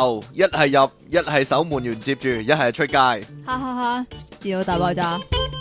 頭，一係入，一係守門員接住，一係出街。 哈哈哈！電腦大爆炸。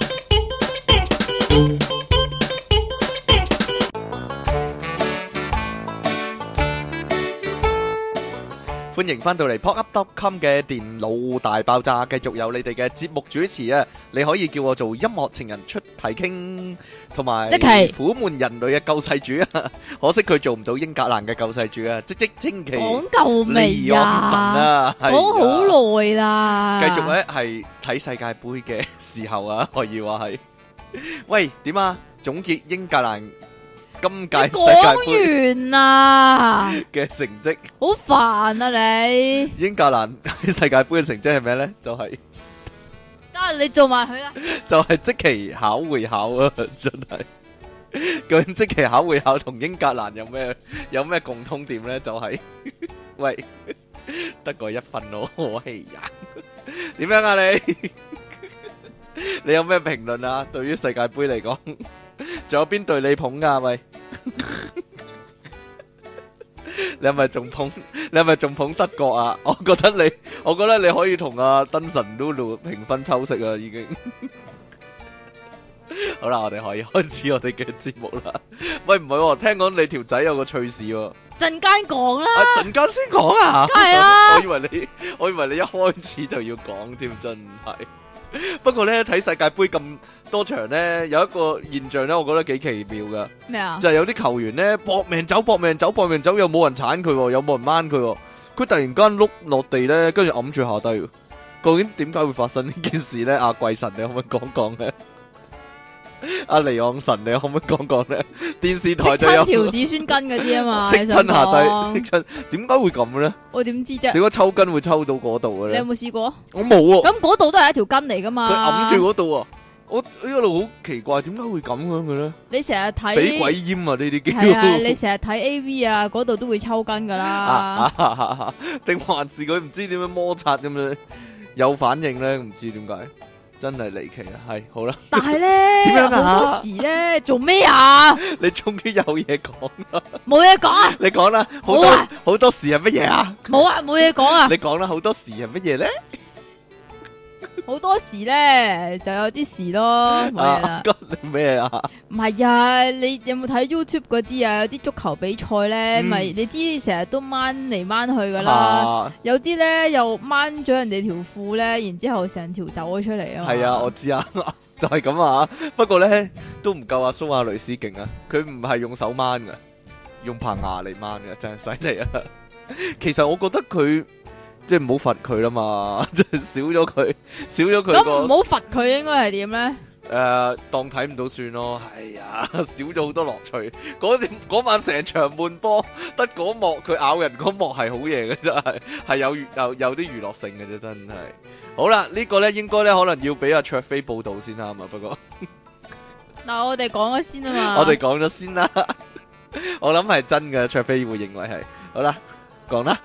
歡迎翻到嚟 popup.com 嘅電腦大爆炸，繼續有你哋嘅節目主持啊！你可以叫我做音樂情人出體傾，同埋即係苦悶人類嘅救世主啊！可惜佢做唔到英格蘭嘅救世主啊！即稱其講夠未離岸神啊！ 講好耐啦。 繼續咧係睇世界盃嘅時候啊，可以話係。喂，點啊？總結英格蘭今屆世界盃講完啦， 嘅成績， 好煩啊你！ 英格蘭世界盃嘅成績係咩咧？就係得你做埋佢啦。 就係即期考會考啊！真係，究竟即期考會考同英格蘭有咩共通點咧？就係喂，得個1分咯，哎呀，點樣啊你？你有咩評論啊？對於世界盃嚟講，仲有邊隊你捧噶？喂，你係咪仲捧德國啊？我覺得你可以同阿登神 Lulu 平分秋色啊！已經好啦，我哋可以開始我哋嘅節目啦。喂，唔係喎，聽講你條仔有個趣事喎。 陣間講啦。 陣間先講啊？ 係啊。 我以為你一開始就要講添，真係。不過咧，睇世界盃咁多場咧，有一個現象咧，我覺得幾奇妙噶。 咩啊？ 就係有啲球員咧搏命走，又冇人鏟佢，又冇人掹佢，佢突然間碌落地咧，跟住揞住下低。究竟點解會發生呢件事咧？阿貴神，你可唔可以講講咧？阿離岸神，你可唔可以講講咧？電視台就有條子孫根嗰啲啊嘛， 戚親下低，戚親，點解會咁咧？ 我點知啫？ 點解抽筋會抽到嗰度嘅咧？ 你有冇試過？ 我冇喎。 咁嗰度都係一條筋嚟噶嘛？ 佢揞住嗰度啊！我一路好奇怪，點解會咁樣嘅咧？ 你成日睇俾鬼閹啊！呢啲叫係啊！你成日睇 AV 啊，嗰度都會抽筋噶啦。 定還是佢唔知點樣摩擦咁樣有反應咧？唔知點解。真係離奇啊！係好啦， 但係咧， 點樣啊？ 好多時咧做咩啊？ 你終於有嘢講啦！ 冇嘢講啊！ 你講啦，好多時係乜嘢啊？ 冇啊，冇嘢講啊！ 你講啦，好多時係乜嘢咧？ 好多時咧就有啲事咯，冇嘢啦。 咩啊？ 唔係啊，你有冇睇 YouTube 嗰啲啊？有啲足球比賽咧，咪你知成日都掹嚟掹去噶啦。有啲咧又掹咗人哋條褲咧，然之後成條走咗出嚟啊！ 係啊，我知啊，就係咁啊。不過咧都唔夠阿蘇亞雷斯勁啊！佢唔係用手掹噶，用棚牙嚟掹噶，真係犀利啊！其實我覺得佢。即係唔好罰佢啦嘛，即係少咗佢。 咁唔好罰佢，應該係點咧？ 當睇唔到算咯。係啊，少咗好多樂趣。嗰晚成場悶波，得嗰幕佢咬人嗰幕係好嘢嘅，真係有啲娛樂性嘅啫，真係。好啦，呢個咧應該咧可能要俾阿卓飛報道先啱嘛。不過嗱，我哋講咗先啊嘛。 我哋講咗先啦。我諗係真嘅，卓飛會認為係。好啦，講啦。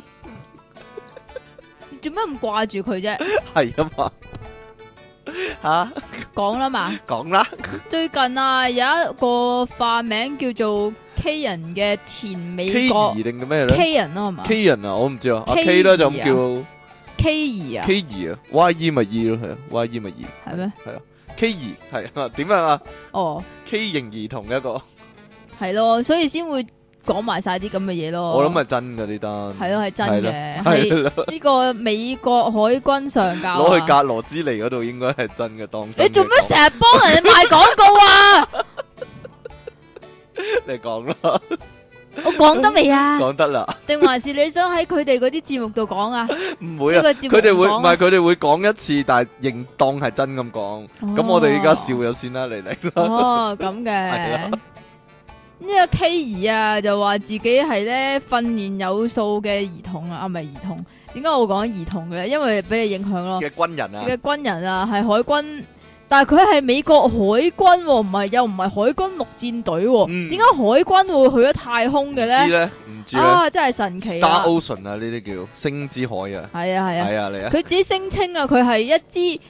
做咩咁掛住佢啫？ 係啊嘛，吓講啦嘛， 講啦。最近啊，有一個化名叫做 K 人嘅前美國 K 定嘅咩咧 ？K 人啊係嘛 ？K 人啊，我唔知啊。阿 K 咧就咁叫 K 兒啊 ，K 兒啊 ，Y E 咪 E 咯，係啊 ，Y E 咪 E 係咩？ 係啊 ，K 兒係啊，點樣啊？ 哦 ，K 型兒童一個係咯，所以先會。講埋晒啲咁嘅嘢咯， 我諗係真噶呢單， 係咯係真嘅，係呢個美國海軍上校攞去格羅茲尼嗰度應該係真嘅當真。 你做咩成日幫人哋賣廣告啊？ 你講啦， 我講得未啊？ 講得啦，定還是你想喺佢哋嗰啲節目度講啊？ 唔會啊，佢哋會唔係佢哋會講一次，但係認當係真咁講。咁我哋而家笑咗先啦，嚟啦。 哦，咁嘅。呢個 K 兒啊，就話自己係咧訓練有素嘅兒童啊，唔係兒童，點解我會講兒童嘅咧？因為俾你影響咯。 嘅軍人啊， 嘅軍人啊，係海軍，但係佢係美國海軍，唔係又唔係海軍陸戰隊，點解海軍會去咗太空嘅咧？ 唔知咧，唔知咧， 啊，真係神奇啊 ！Star Ocean 啊，呢啲叫星之海啊， 係啊係啊， 係啊嚟啊！ 佢自己聲稱啊，佢係一支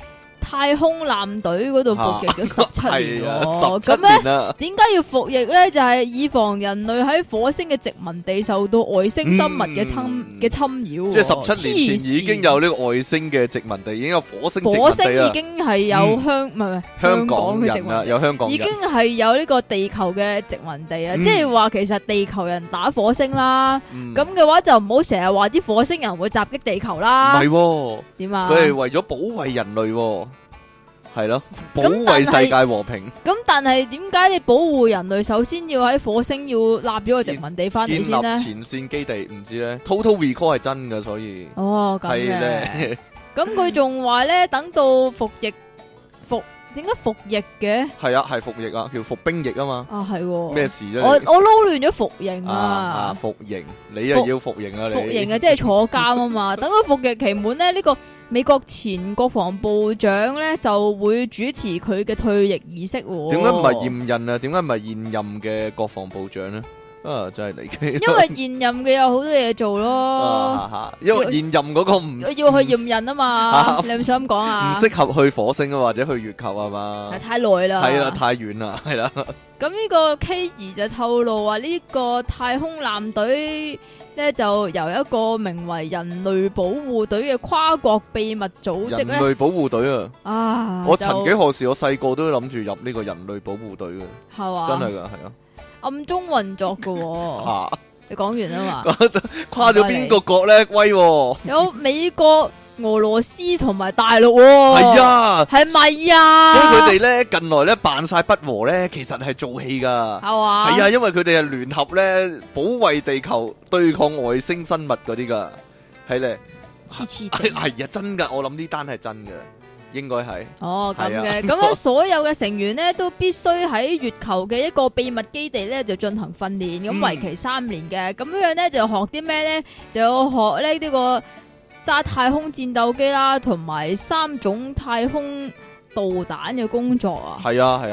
太空艦隊嗰度服役咗17年喎。 咁咧點解要服役咧？就係以防人類喺火星嘅殖民地受到外星生物嘅侵擾。 即係17年前已經有呢個外星嘅殖民地，已經有火星殖民地。 火星已經係有香港嘅殖民地， 有香港人， 已經係有呢個地球嘅殖民地啊！即係話其實地球人打火星啦，咁嘅話就唔好成日話啲火星人會襲擊地球啦。 唔係點啊？ 佢係為咗保衛人類，係咯，保衛世界和平。 咁但係點解你保護人類，首先要喺火星要立咗個殖民地翻嚟先呢？ 建立前線基地唔知咧 ，Total Recall 係真噶，所以咁嘅。咁佢仲話咧，等到點解服役嘅？ 係啊，係服役啊，叫服兵役啊嘛。 啊，係咩事啫？ 我撈亂咗服刑啊！ 服刑，你又要服刑啊？你服刑啊，即係坐監啊嘛。等佢服役期滿咧，呢個美國前國防部長咧就會主持佢嘅退役儀式。 點解唔係現任啊？點解唔係現任嘅國防部長咧？真係離奇。 因為現任嘅有好多嘢做咯。 因為現任嗰個唔要去驗人啊嘛。你係咪想咁講啊？ 唔適合去火星啊，或者去月球啊嘛。 太耐啦。 係啦，太遠啦，係啦。 咁呢個 K 兒就透露話呢個太空艦隊咧就由一個名為人類保護隊嘅跨國秘密組織咧。人類保護隊啊！ 我曾幾何時我細個都諗住入呢個人類保護隊嘅。 係嘛？ 真係噶，係啊。 暗中運作嘅。你講完啊嘛？ 跨咗邊個國咧？威！ 有美國、俄羅斯同埋大陸。 係啊， 係咪啊？ 所以佢哋咧近來咧扮晒不和咧，其實係做戲噶。 係嘛？ 係啊，因為佢哋係聯合咧保衛地球、對抗外星生物嗰啲噶。係咧， 黐黐。 係啊，真噶，我諗呢單係真嘅。應該係咁嘅，咁樣所有嘅成員咧都必須喺月球嘅一個秘密基地咧就進行訓練，咁為期3年嘅，咁樣咧就學啲咩咧？就要學呢個揸太空戰鬥機啦，同埋3種太空導彈嘅工作啊！ 係啊，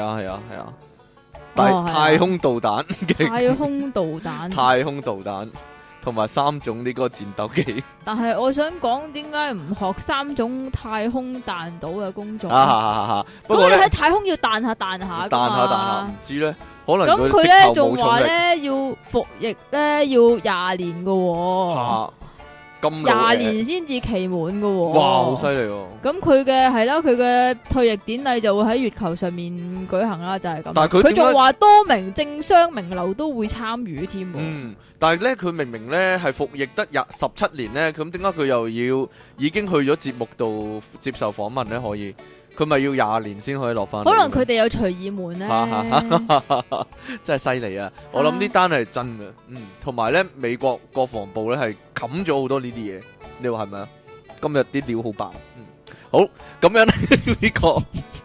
太空導彈嘅太空導彈， 太空導彈。同埋3種呢個戰鬥機， 但係我想講，點解唔學3種太空彈道嘅工作？ 不過你喺太空要彈下彈下唔知咧，可能咁佢咧仲話咧要服役咧要20年嘅。20年先至期滿嘅。 哇，好犀利喎！ 咁佢嘅係啦，佢嘅退役典禮就會喺月球上面舉行啦，就係咁。 但係佢仲話多名政商名流都會參與添。 但係咧佢明明咧係服役得17年咧，咁點解佢又要已經去咗節目度接受訪問咧？可以？佢咪要20年先可以落翻？ 可能佢哋有隨意門咧， 真係犀利啊！我諗呢單係真嘅，同埋咧美國國防部咧係冚咗好多呢啲嘢，你話係咪啊？今日啲料好爆，好咁樣呢個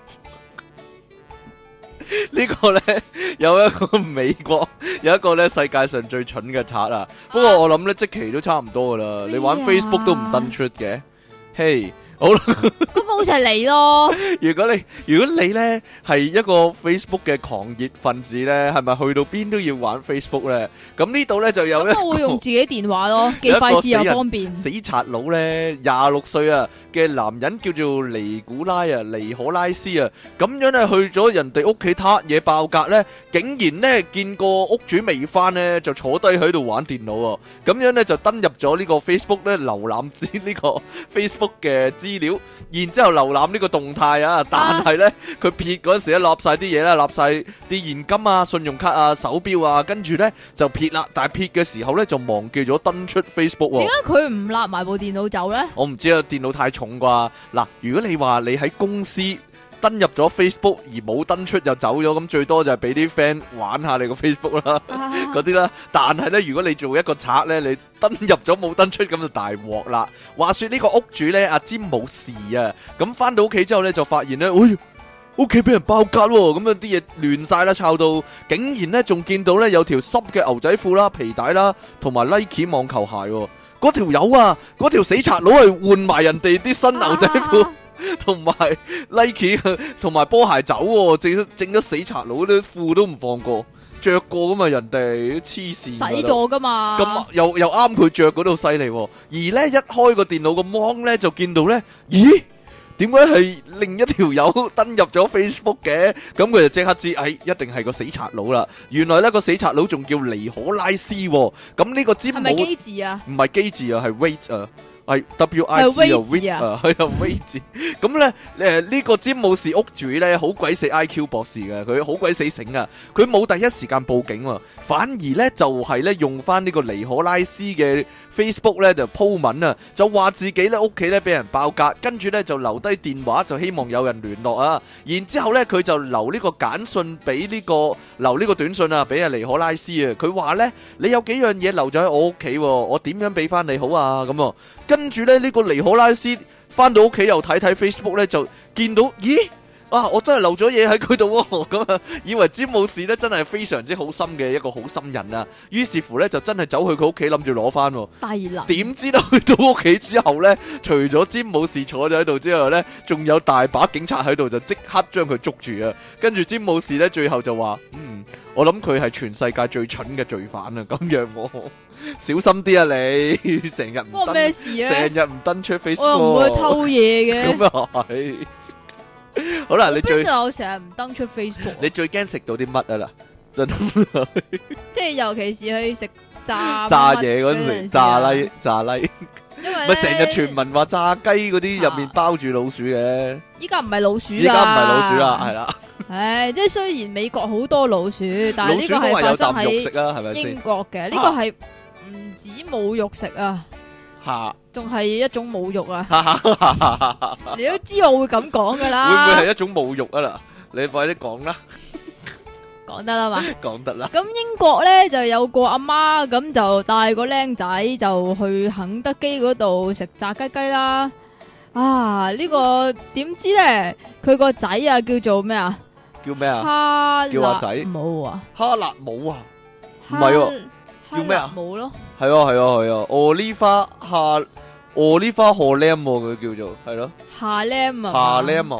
呢個咧有一個美國有一個咧世界上最蠢嘅賊啊！不過我諗咧即期都差唔多噶啦，你玩 Facebook 都唔登出嘅，嘿。好啦， 嗰個好似係你咯。 如果你咧係一個 Facebook 嘅狂熱分子咧，係咪去到邊都要玩 Facebook 咧？咁呢度咧就有咁我會用自己電話咯，幾快捷又方便。 死賊佬咧，26歲啊嘅男人叫做尼古拉啊，尼可拉斯啊，咁樣咧去咗人哋屋企撻嘢爆格咧，竟然咧見個屋主未翻咧，就坐低喺度玩電腦啊，咁樣咧就登入咗呢個 Facebook 咧，瀏覽呢個 Facebook 嘅資料，然之後瀏覽呢個動態啊，但係咧佢撇嗰陣時咧立晒啲嘢啦，立晒啲現金啊、信用卡啊、手錶啊，跟住咧就撇啦，但係撇嘅時候咧就忘記咗登出 Facebook 喎。 點解佢唔立埋部電腦走咧？ 我唔知啊，電腦太重啩。嗱，如果你話你喺公司登入咗 Facebook 而冇登出就走咗，咁最多就係俾啲 friend 玩下你個 Facebook 啦，嗰啲啦。但係咧，如果你做一個賊咧，你登入咗冇登出，咁就大鑊啦。話說呢個屋主咧，阿詹冇事啊，咁翻到屋企之後咧，就發現咧，屋企俾人爆格喎，咁樣啲嘢亂晒啦，抄到，竟然咧仲見到咧有條濕嘅牛仔褲啦、皮帶啦，同埋 Nike 網球鞋喎。嗰條友啊，嗰條死賊佬係換埋人哋啲新牛仔褲。同埋 Nike 同埋波鞋走喎，整咗死賊佬啲褲都唔放過，着過噶嘛，人哋黐線， 洗咗噶嘛， 咁又啱佢着嗰度犀利，而咧一開個電腦個芒咧就見到咧，咦， 點解係另一條友登入咗 Facebook 嘅？咁佢就即刻知，一定係個死賊佬啦。原來呢個死賊佬仲叫尼可拉斯喎。咁呢個詹姆係咪機字啊？ 唔係機字啊，係 wait 啊。係 W.I.G 啊，係啊 ，Wait 字。咁咧，呢個詹姆士屋主咧，好鬼死 I.Q 博士嘅，佢好鬼死醒啊！佢冇第一時間報警喎，反而咧就係咧用翻呢個尼可拉斯嘅 Facebook 咧就鋪文啊，就話自己咧屋企咧俾人爆格，跟住咧就留低電話，就希望有人聯絡啊。然之後咧佢就留呢個簡訊俾留呢個短信啊，俾阿尼可拉斯啊。佢話咧，你有幾樣嘢留咗喺我屋企，我點樣俾翻你好啊？咁啊。跟住咧，呢個尼可拉斯翻到屋企又睇睇 Facebook 咧，就見到，咦啊！我真係漏咗嘢喺佢度喎，咁啊，以為詹姆士咧真係非常之好心嘅一個好心人啊。於是乎咧，就真係走去佢屋企諗住攞翻。 低能。點知道去到屋企之後咧，除咗詹姆士坐咗喺度之後咧，仲有大把警察喺度，就即刻將佢捉住啊！跟住詹姆士咧，最後就話：我諗佢係全世界最蠢嘅罪犯啊！咁樣喎。小心啲啊你，成日唔關咩事啊？成日唔登出 Facebook， 我又唔會偷嘢嘅。 咁又係。好啦，你我成日唔登出 Facebook。 你最驚食到啲乜啊啦？真即係尤其是去食炸嘢嗰陣時，炸拉。因為咪成日傳聞話炸雞嗰啲入面包住老鼠嘅。依家唔係老鼠啦，係啦。 唉，即係雖然美國好多老鼠，但係呢個係發生喺英國嘅，呢個係。唔止侮辱食啊，仲係一種侮辱啊！你都知我會咁講噶啦， 會唔會係一種侮辱啊啦？你快啲講啦， 講得啦嘛， 講得啦。 咁英國咧就有個阿媽咁就帶個僆仔就去肯德基嗰度食炸雞雞啦。啊，呢個點知咧佢個仔啊叫做咩啊？ 叫咩啊？叫阿仔冇啊？ 哈勒姆啊？唔係喎。叫咩啊？ 冇咯， 係啊 Oliver Holm 佢叫做係咯 Harlem 啊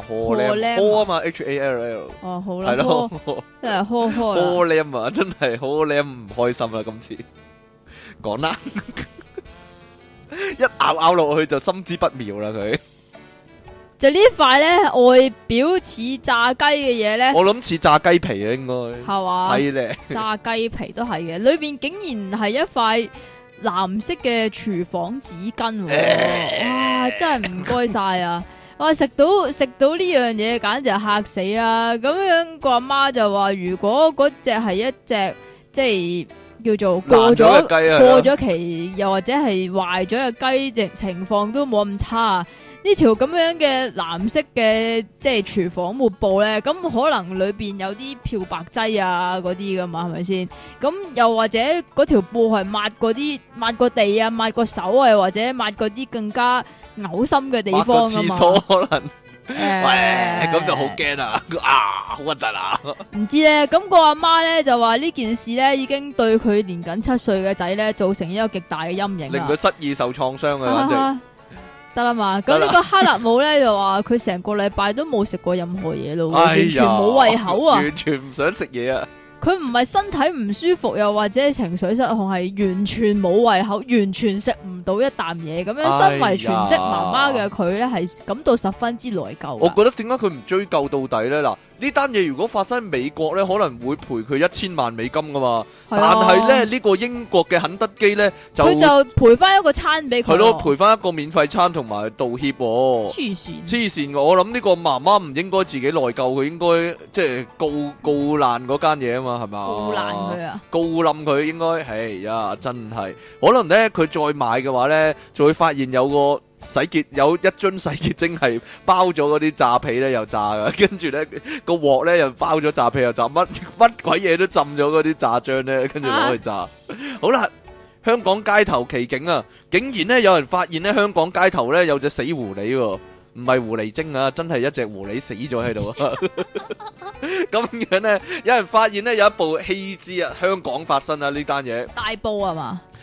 Holm 啊嘛 HALL 哦好啦， 係咯真係 Holm 啊，真係 Holm 唔開心啦今次講啦一咬落去就心知不妙啦佢。 就呢塊咧外表似炸雞嘅嘢咧， 我諗似炸雞皮啊，應該係嘛？ 係咧， 炸雞皮都係嘅，裏邊竟然係一塊藍色嘅廚房紙巾，哇！真係唔該晒啊！哇，食到呢樣嘢，簡直係嚇死啊！咁樣個阿媽就話，如果嗰隻係一隻即係叫做過咗期，又或者係壞咗嘅雞，情況都冇咁差。呢條咁樣嘅藍色嘅即係廚房抹布咧，咁可能裏邊有啲漂白劑啊嗰啲噶嘛，係咪先？咁又或者嗰條布係抹個地啊，抹個手啊，或者抹嗰啲更加嘔心嘅地方噶嘛？ 廁所可能，喂，咁就好驚啊！好核突啊！ 唔知咧，咁個阿媽咧就話呢件事咧已經對佢年僅7歲嘅仔咧造成一個極大嘅陰影， 令佢失意受創傷啊！簡直。 得啦嘛，咁呢個哈勒姆咧就話佢成個禮拜都冇食過任何嘢咯，完全冇胃口啊， 完全唔想食嘢啊！ 佢唔係身體唔舒服，又或者情緒失控，係完全冇胃口，完全食唔到一啖嘢咁樣。身為全職媽媽嘅佢咧，係感到十分之內疚。 我覺得點解佢唔追究到底咧？嗱，呢單嘢如果發生喺美國咧，可能會賠佢1000萬美金噶嘛。但係咧呢個英國嘅肯德基咧，佢就賠翻一個餐俾佢。 係咯，賠翻一個免費餐同埋道歉。黐線！我諗呢個媽媽唔應該自己內疚，佢應該即係告爛嗰間嘢啊嘛，係嘛？ 告爛佢啊！ 告冧佢應該，係呀，真係可能咧，佢再買嘅話咧，就會發現有個有一樽洗潔精係包咗嗰啲炸皮咧，又炸噶，跟住咧個鑊咧又包咗炸皮又炸，乜鬼嘢都浸咗嗰啲炸漿咧，跟住攞去炸。好啦，香港街頭奇景啊，竟然咧有人發現咧香港街頭咧有隻死狐狸喎。唔係狐狸精啊，真係一隻狐狸死咗喺度啊！咁樣咧，有人發現咧有一部棄置啊，香港發生啊呢單嘢。 大埔啊嘛？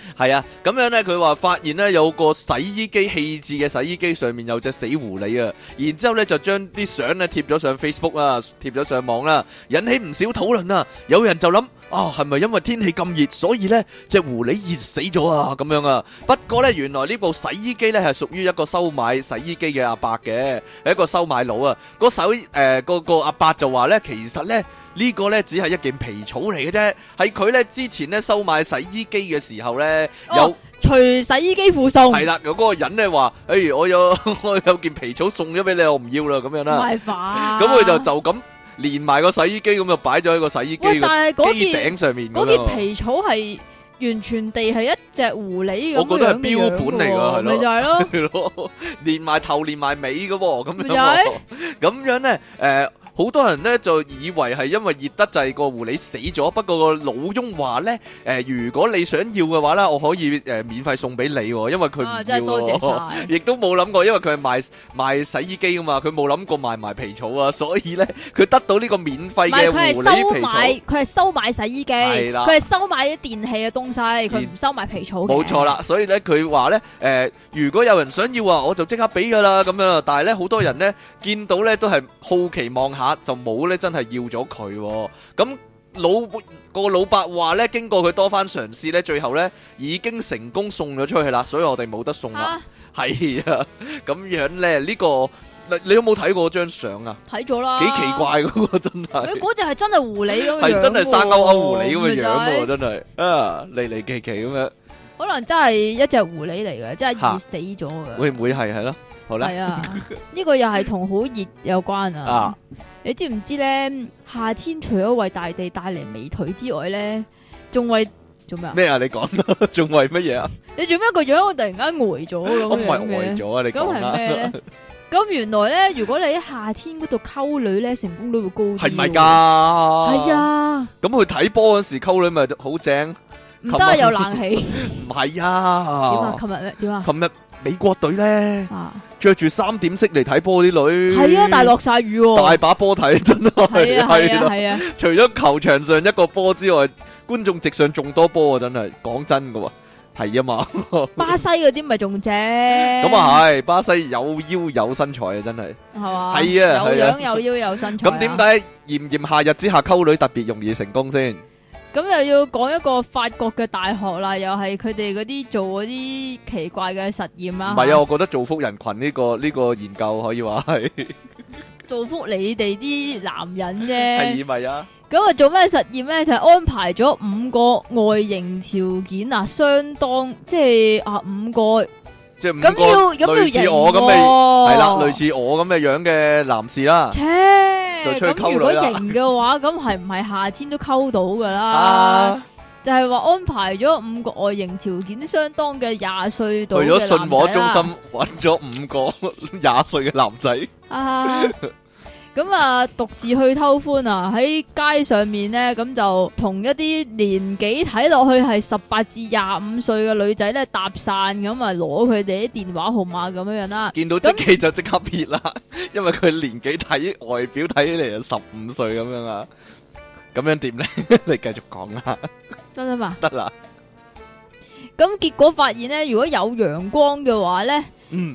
係啊，咁樣咧，佢話發現咧有個洗衣機棄置嘅洗衣機上面有隻死狐狸啊，然之後咧就將啲相咧貼咗上 Facebook 啦，貼咗上網啦，引起唔少討論啊。有人就諗啊，係咪因為天氣咁熱，所以咧隻狐狸熱死咗啊？咁樣啊。不過咧，原來呢部洗衣機咧係屬於一個收買洗衣機嘅阿伯嘅，係一個收買佬啊。個阿伯就話咧，其實咧呢個咧只係一件皮草嚟嘅啫，係佢咧之前咧收買洗衣機嘅時候咧有除洗衣機附送， 係啦，有嗰個人咧話，我有件皮草送咗俾你，我唔要啦，咁樣啦。 唔係吧？ 咁佢就咁連埋個洗衣機咁就擺咗喺個洗衣機嘅機頂上面。 嗰件皮草係完全地係一隻狐狸咁樣， 我覺得係標本嚟噶，係咯， 咪就係咯， 係咯，連埋頭連埋尾噶，咁樣，咁樣咧，好多人咧就以為係因為熱得滯個狐狸死咗，不過個老翁話咧，如果你想要嘅話咧，我可以免費送俾你，因為佢唔要， 真係多謝晒， 亦都冇諗過，因為佢係賣洗衣機噶嘛，佢冇諗過賣埋皮草啊，所以咧佢得到呢個免費嘅狐狸皮草， 佢係收買洗衣機，佢係收買啲電器嘅東西，佢唔收買皮草嘅。冇錯啦，所以咧佢話咧，如果有人想要啊，我就即刻俾噶啦，咁樣。但係咧好多人咧見到咧都係好奇望下。就冇咧，真係要咗佢。咁個老伯話咧，經過佢多番嘗試咧，最後咧已經成功送咗出去啦，所以我哋冇得送啦。係啊，咁樣咧呢個你有冇睇過張相啊？ 睇咗啦， 幾奇怪嗰個真係。 嗰隻係真係狐狸咁樣， 係真係生勾勾狐狸咁嘅樣喎，真係啊，離離奇奇咁樣。 可能真係一隻狐狸嚟嘅，真係熱死咗嘅。 會唔會係咯？好啦， 係啊，呢個又係同好熱有關啊。你知唔知咧？夏天除咗為大地帶嚟美腿之外咧，仲為做咩啊？ 咩啊？你講啦，仲為乜嘢啊？ 你做咩個樣我突然間呆咗咁？我唔係呆咗啊！你講啦。咁係咩咧？ 咁原來咧，如果你喺夏天嗰度溝女咧，成功率會高啲。 係咪噶？ 係啊。 咁去睇波嗰時溝女咪好正？ 唔得，有冷氣。 唔係啊。 點啊？琴日咩？點啊？ 琴日美國隊咧。着住3點式嚟睇波啲女， 係啊，但係落晒雨， 大把波睇，真係係啊！ 除咗球場上一個波之外，觀眾席上仲多波啊！真係講真噶，係啊嘛。 巴西嗰啲咪仲正， 咁啊係，巴西有腰有身材啊，真係係嘛， 係啊， 有樣有腰有身材。 咁點解炎炎夏日之下溝女特別容易成功先？ 咁又要講一個法國嘅大學啦，又係佢哋嗰啲做嗰啲奇怪嘅實驗啦。 唔係啊，我覺得造福人群呢個研究可以話係造福你哋啲男人啫。 係咪啊？ 咁啊做咩實驗咧？就係安排咗5個外形條件啊，相當即係5個。 即係5個類似我咁嘅係啦，類似我咁嘅樣嘅男士啦。就出去溝女啦。咁如果型嘅話， 咁係唔係夏天都溝到噶啦？就係話安排咗5個外形條件相當嘅20歲到嘅男仔啦。 去咗信和中心揾咗5個20歲嘅男仔。 咁啊，獨自去偷歡啊！喺街上面咧，咁就同一啲年紀睇落去係18至25歲嘅女仔咧搭訕，咁啊攞佢哋啲電話號碼咁樣啦。 見到積淇就即刻撇啦，因為佢年紀睇外表睇起嚟就15歲咁樣啊。咁樣點咧？你繼續講啦。 得啦嘛？ 得啦。 咁結果發現咧，如果有陽光嘅話咧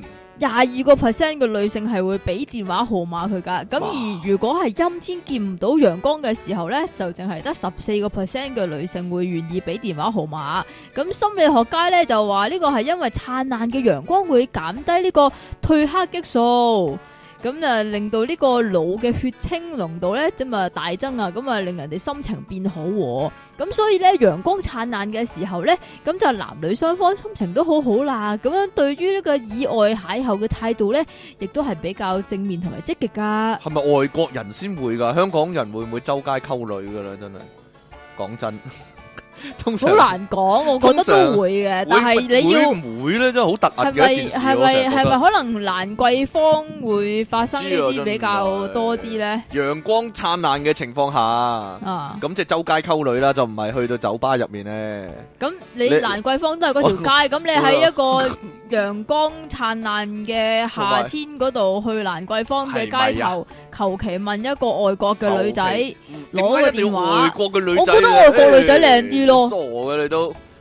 ，22% 嘅女性係會俾電話號碼佢噶，咁而如果係陰天見唔到陽光嘅時候呢，就淨係得14% 嘅女性會願意俾電話號碼。咁心理學家呢就話呢個係因為燦爛嘅陽光會減低呢個褪黑激素。咁啊，令到呢個腦嘅血清濃度咧，咁啊大增啊，咁啊令人哋心情變好。咁所以咧，陽光燦爛嘅時候咧，咁就男女雙方心情都好好啦。咁樣對於呢個意外邂逅嘅態度咧，亦都係比較正面同埋積極噶。 係咪外國人先會噶？香港人會唔會周街溝女噶啦？真係講真。通常好難講，我覺得都會嘅，但係你要唔會咧，真係好突兀嘅一件事。 係咪可能蘭桂坊會發生呢啲比較多啲咧？ 陽光燦爛嘅情況下，咁即係周街溝女啦，就唔係去到酒吧入面咧。 咁你蘭桂坊都係嗰條街，咁你喺一個陽光燦爛嘅夏天嗰度去蘭桂坊嘅街頭，求其問一個外國嘅女仔攞個電話， 外國嘅女仔， 我覺得外國女仔靚啲咯。 傻嘅你都，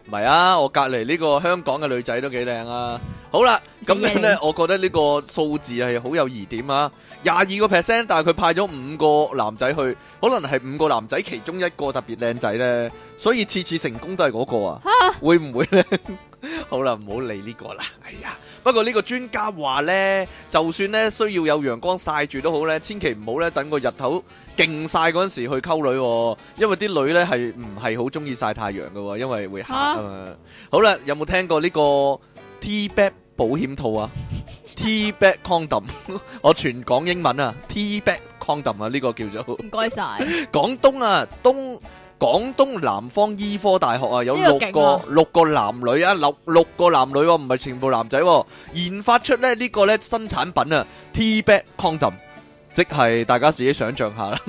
唔係啊，我隔離呢個香港嘅女仔都幾靚啊。好啦，咁樣咧，我覺得呢個數字係好有疑點啊。22%，但係佢派咗5個男仔去，可能係5個男仔其中一個特別靚仔咧，所以次次成功都係嗰個啊。會唔會咧？好啦，唔好理呢個啦。哎呀，不過呢個專家話咧，就算咧需要有陽光曬住都好咧，千祈唔好咧等個日頭勁曬嗰陣時去溝女喎，因為啲女咧係唔係好中意曬太陽㗎喎，因為會嚇啊嘛。好啦，有冇聽過呢個 T-back 保險套啊？T-back condom， 我全講英文啊 ，T-back condom 啊，呢個叫做。唔該晒。廣東啊，廣東南方醫科大學啊，有六個男女啊，六個男女喎，唔係全部男仔喎，研發出咧呢個咧新產品啊 ，T-back condom。即係大家自己想象下啦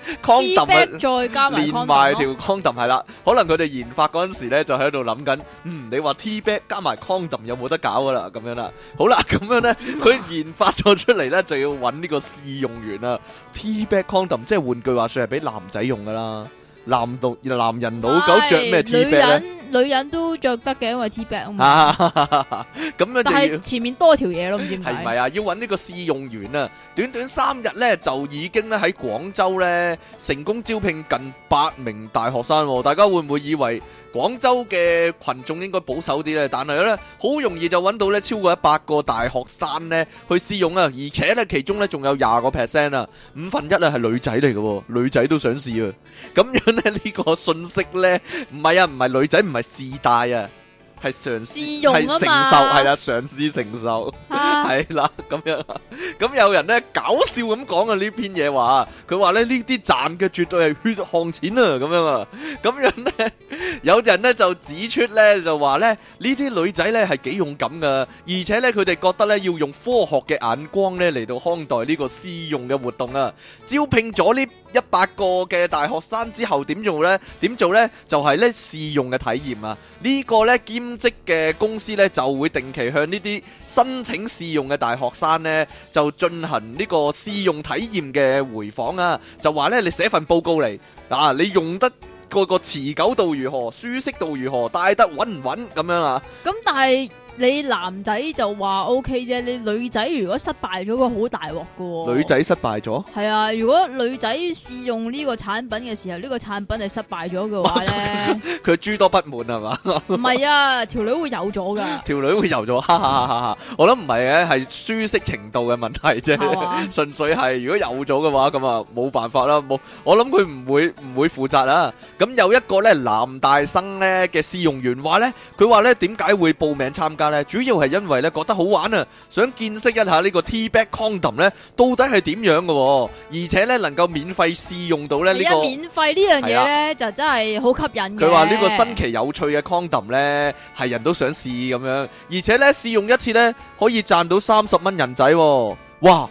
，condom 再加埋連埋條 condom 係啦，可能佢哋研發嗰陣時咧就喺度諗緊，你話 T-back 加埋 condom 有冇得搞噶啦？咁樣啦，好啦，咁樣咧，佢研發咗出嚟咧就要揾呢個試用員啊 ，T-back condom 即係換句話說係俾男仔用噶啦，男人老狗着咩 T-back 咧？ 女人都着得嘅，因為 T-back 啊嘛。 咁樣但係前面多條嘢咯，唔知點解。 係咪啊？要揾呢個試用員啊！短短3日咧，就已經咧喺廣州咧成功招聘近8名大學生喎。大家會唔會以為廣州嘅群眾應該保守啲咧？但係咧，好容易就揾到咧超過100個大學生咧去試用啊！而且咧，其中咧仲有20%啊，1/5啊係女仔嚟嘅，女仔都想試啊！咁樣咧呢個信息咧，唔係女仔，唔係試戴啊，係嘗試係承受，係啦，嘗試承受，係啦，咁樣。咁有人咧搞笑咁講啊呢篇嘢話，佢話咧呢啲賺嘅絕對係血汗錢啊，咁樣啊，咁樣咧有人咧就指出咧就話咧呢啲女仔咧係幾勇敢噶，而且咧佢哋覺得咧要用科學嘅眼光咧嚟到看待呢個試用嘅活動啊。招聘咗呢100個嘅大學生之後點做咧？就係咧試用嘅體驗啊。呢個咧兼職嘅公司咧就會定期向呢啲申請試用嘅大學生咧就進行呢個試用體驗嘅回訪啊，就話咧你寫份報告嚟啊，你用得個持久度如何，舒適度如何，戴得穩唔穩咁樣啊？咁但係你男仔就話 OK 啫，你女仔如果失敗咗個好大鑊噶喎。 女仔失敗咗？係啊，如果女仔試用呢個產品嘅時候，呢個產品係失敗咗嘅話咧，佢諸多不滿係嘛？ 唔係啊，條女會有咗噶。 條女會有咗，哈哈哈哈！我諗唔係嘅，係舒適程度嘅問題啫，純粹係如果有咗嘅話，咁啊冇辦法啦。我諗佢唔會負責啦。咁有一個咧男大生咧嘅試用員話咧，佢話咧點解會報名參加？主要係因為咧覺得好玩啊，想見識一下呢個 T-back condom 咧到底係點樣嘅，而且咧能夠免費試用到咧呢個免費呢樣嘢咧就真係好吸引嘅。 佢話呢個新奇有趣嘅 condom 咧係人都想試咁樣，而且咧試用一次咧可以賺到30蚊人仔，哇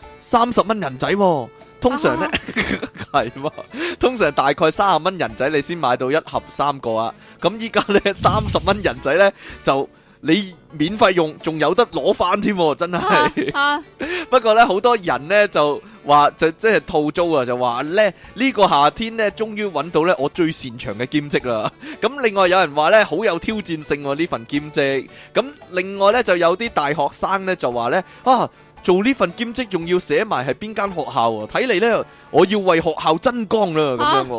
！30蚊人仔，通常咧係嘛？通常大概30蚊人仔你先買到1盒3個啊，咁依家咧30蚊人仔咧就你免費用，仲有得攞翻添，真係。不過咧，好多人咧就話即係套租啊，就話咧呢個夏天咧，終於揾到咧我最擅長嘅兼職啦。咁另外有人話咧好有挑戰性呢份兼職。咁另外咧就有啲大學生咧就話咧做呢份兼職仲要寫埋係邊間學校啊？睇嚟咧我要為學校增光啦，咁樣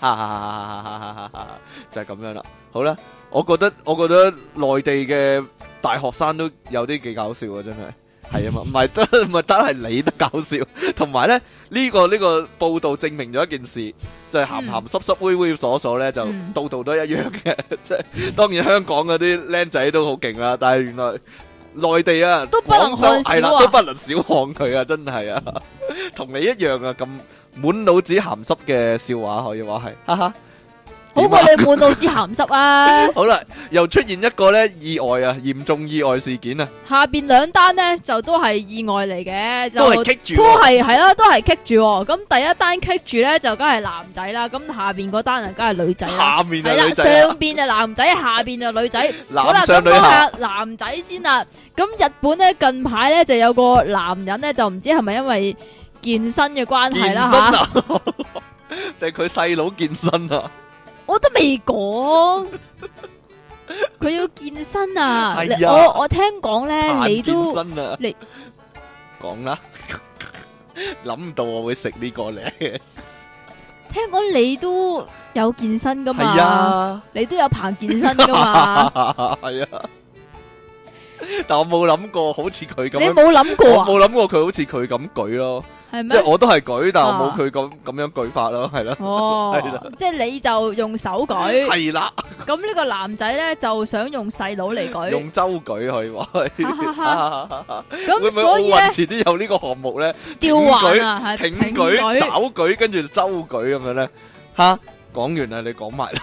就係咁樣啦。好啦。我覺得內地嘅大學生都有啲幾搞笑啊，真係啊嘛，唔係得係你得搞笑，同埋咧呢個報道證明咗一件事，就係鹹鹹濕濕猥猥瑣瑣咧就度度都一樣嘅，即係當然香港嗰啲僆仔都好勁啦，但係原來內地啊都不能看小都不能小看佢啊，真係啊，同你一樣啊，咁滿腦子鹹濕嘅笑話可以話係，哈哈。 好過你滿腦子鹹濕啊！ 好啦，又出現一個咧意外啊，嚴重意外事件啊！ 下邊2單咧就都係意外嚟嘅，就都係棘住， 都係啦，都係棘住。咁第一單棘住咧就梗係男仔啦，咁下邊嗰單啊梗係女仔啦。 下面係女仔， 上邊就男仔，下邊就女仔。 男上女下。 好啦，咁講下男仔先啦。咁日本咧近排咧就有個男人咧就唔知係咪因為健身嘅關係啦吓， 定佢細佬健身啊？ 我都未講， 佢要健身啊！ 係啊我聽講咧，你都健身啊！ 你講啦，諗唔到我會食呢個咧。 聽講你都有健身噶嘛？ 係啊， 你都有棚健身噶嘛？ 係啊。但我冇諗過好似佢咁樣， 你冇諗過啊？ 我冇諗過佢好似佢咁舉咯。 係咩？ 即係我都係舉，但係我冇佢咁樣舉法咯，係啦。 哦， 係啦， 即係你就用手舉， 係啦。 咁呢個男仔咧就想用細佬嚟舉， 用周舉可以話係。 咁所以咧， 遲啲有呢個項目咧， 吊環啊，係挺舉、爪舉，跟住周舉咁樣咧。吓，講完啦，你講埋啦。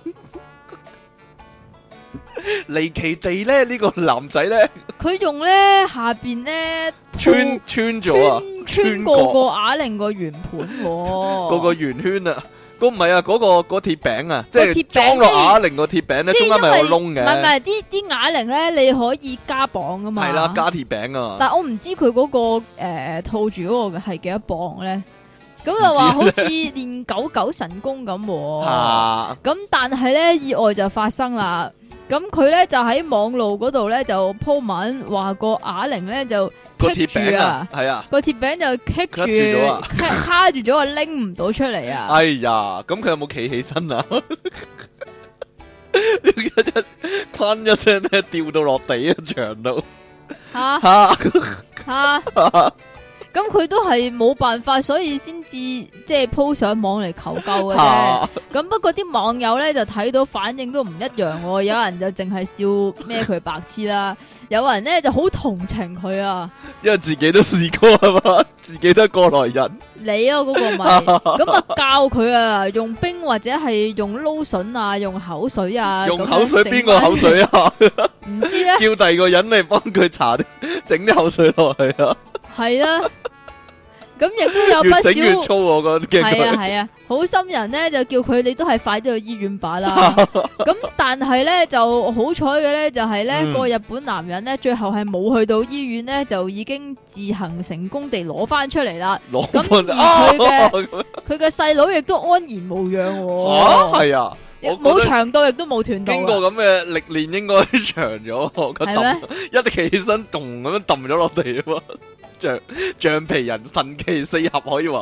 離奇地咧，呢個男仔咧， 佢用咧下邊咧穿咗啊， 穿過個啞鈴個圓盤， 嗰個圓圈啊，唔係啊，嗰鐵餅啊，即係裝落啞鈴個鐵餅咧，中間咪有窿嘅。 唔係啲啞鈴咧，你可以加磅噶嘛？ 係啦，加鐵餅啊。 但係我唔知佢嗰個套住嗰個係幾多磅咧？咁就話好似練99神功咁，咁但係咧意外就發生啦。咁佢咧就喺網路嗰度咧就鋪文話個啞鈴咧就棘住啊，係啊，個鐵餅就棘住卡住咗啊，拎唔到出嚟啊！ 哎呀，咁佢有冇企起身啊？坤一聲咧掉到落地啊，牆度吓。 咁佢都係冇辦法，所以先至即係鋪上網嚟求救嘅啫。咁不過啲網友咧就睇到反應都唔一樣喎，有人就淨係笑咩佢白痴啦，有人咧就好同情佢啊， 因為自己都試過係嘛，自己都係過來人。 你啊嗰個咪咁啊教佢啊，用冰或者係用撈筍啊，用口水啊， 用口水邊個口水啊？ 唔知咧， 叫第二個人嚟幫佢搽啲整啲口水落去啊！ 係啦，咁亦都有不少越整越粗，我覺得係啊，好心人咧就叫佢你都係快啲去醫院吧啦。咁但係咧就好彩嘅咧就係咧個日本男人咧最後係冇去到醫院咧，就已經自行成功地攞翻出嚟啦。咁而佢嘅細佬亦都安然無恙。 係啊。 冇長到亦都冇斷到， 經過咁嘅歷練應該長咗，係咩？一企起身，咚咁樣揼咗落地啊嘛！橡皮人神奇四俠可以話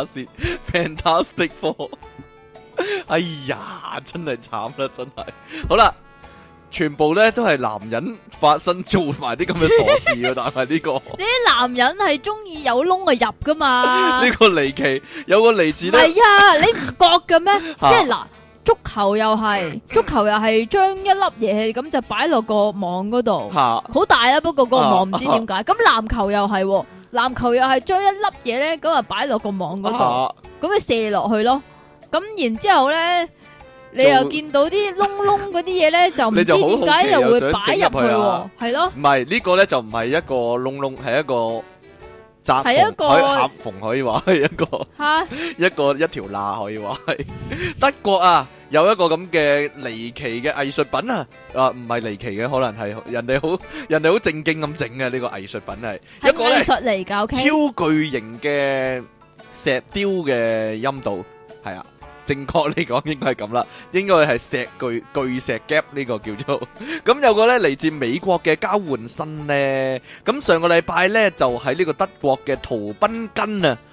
fantastic four。哎呀，真係慘啦，真係。好啦，全部咧都係男人發生做埋啲咁嘅傻事啊！但係呢個啲男人係中意有窿就入噶嘛？ 呢個離奇，有個嚟自咧。 係啊，你唔覺嘅咩？即係嗱。足球又係將一粒嘢咁就擺落個網嗰度，好大啊！不過個網唔知點解。咁籃球又係將一粒嘢咧咁啊擺落個網嗰度，咁咪射落去咯。咁然之後咧，你又見到啲窿嗰啲嘢咧，就唔知點解又會擺入去，係咯？ 唔係呢個咧就唔係一個窿，係一個。係一個合縫可以話係一條罅可以話係。德國啊有一個咁嘅離奇嘅藝術品啊，唔係離奇嘅，可能係人哋好正經咁整嘅呢個藝術品係一個藝術嚟㗎， 超巨型嘅石雕嘅陰道，係啊。正確嚟講應該係咁啦，應該係巨石夾呢個叫做。咁有個咧嚟自美國嘅交換生咧，咁上個禮拜咧就喺呢個德國嘅圖賓根啊，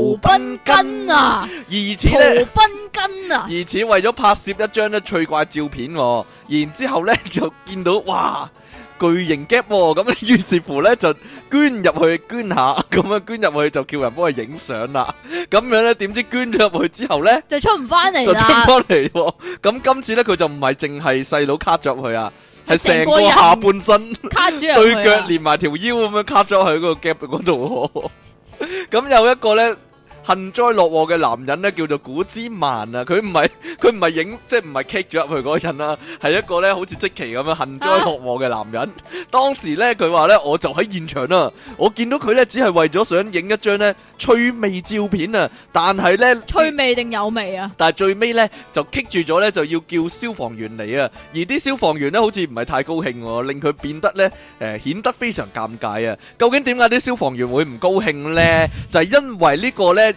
疑似為咗拍攝一張咧趣怪照片，然之後咧就見到哇巨型 gap，咁於是乎咧就捐入去捐下，咁樣捐入去就叫人幫佢影相啦。咁樣咧點知捐咗入去之後咧就出唔翻嚟啦， 就出唔翻嚟。咁今次咧佢就唔係淨係細佬卡咗入去啊，係成個下半身卡咗對腳連埋條腰咁樣卡咗喺嗰個 gap 嗰度。咁有一個咧幸災樂禍嘅男人咧叫做古茲曼啊，佢唔係影即係唔係 kick 咗入去嗰個人啦，係一個咧好似積淇咁樣幸災樂禍嘅男人。當時咧佢話咧我就喺現場啦，我見到佢咧只係為咗想影一張咧趣味照片啊，但係咧趣味定有味啊？ 但係最尾咧就 kick 住咗咧，就要叫消防員嚟啊，而啲消防員咧好似唔係太高興，令佢變得咧顯得非常尷尬啊。究竟點解啲消防員會唔高興咧？就係因為呢個咧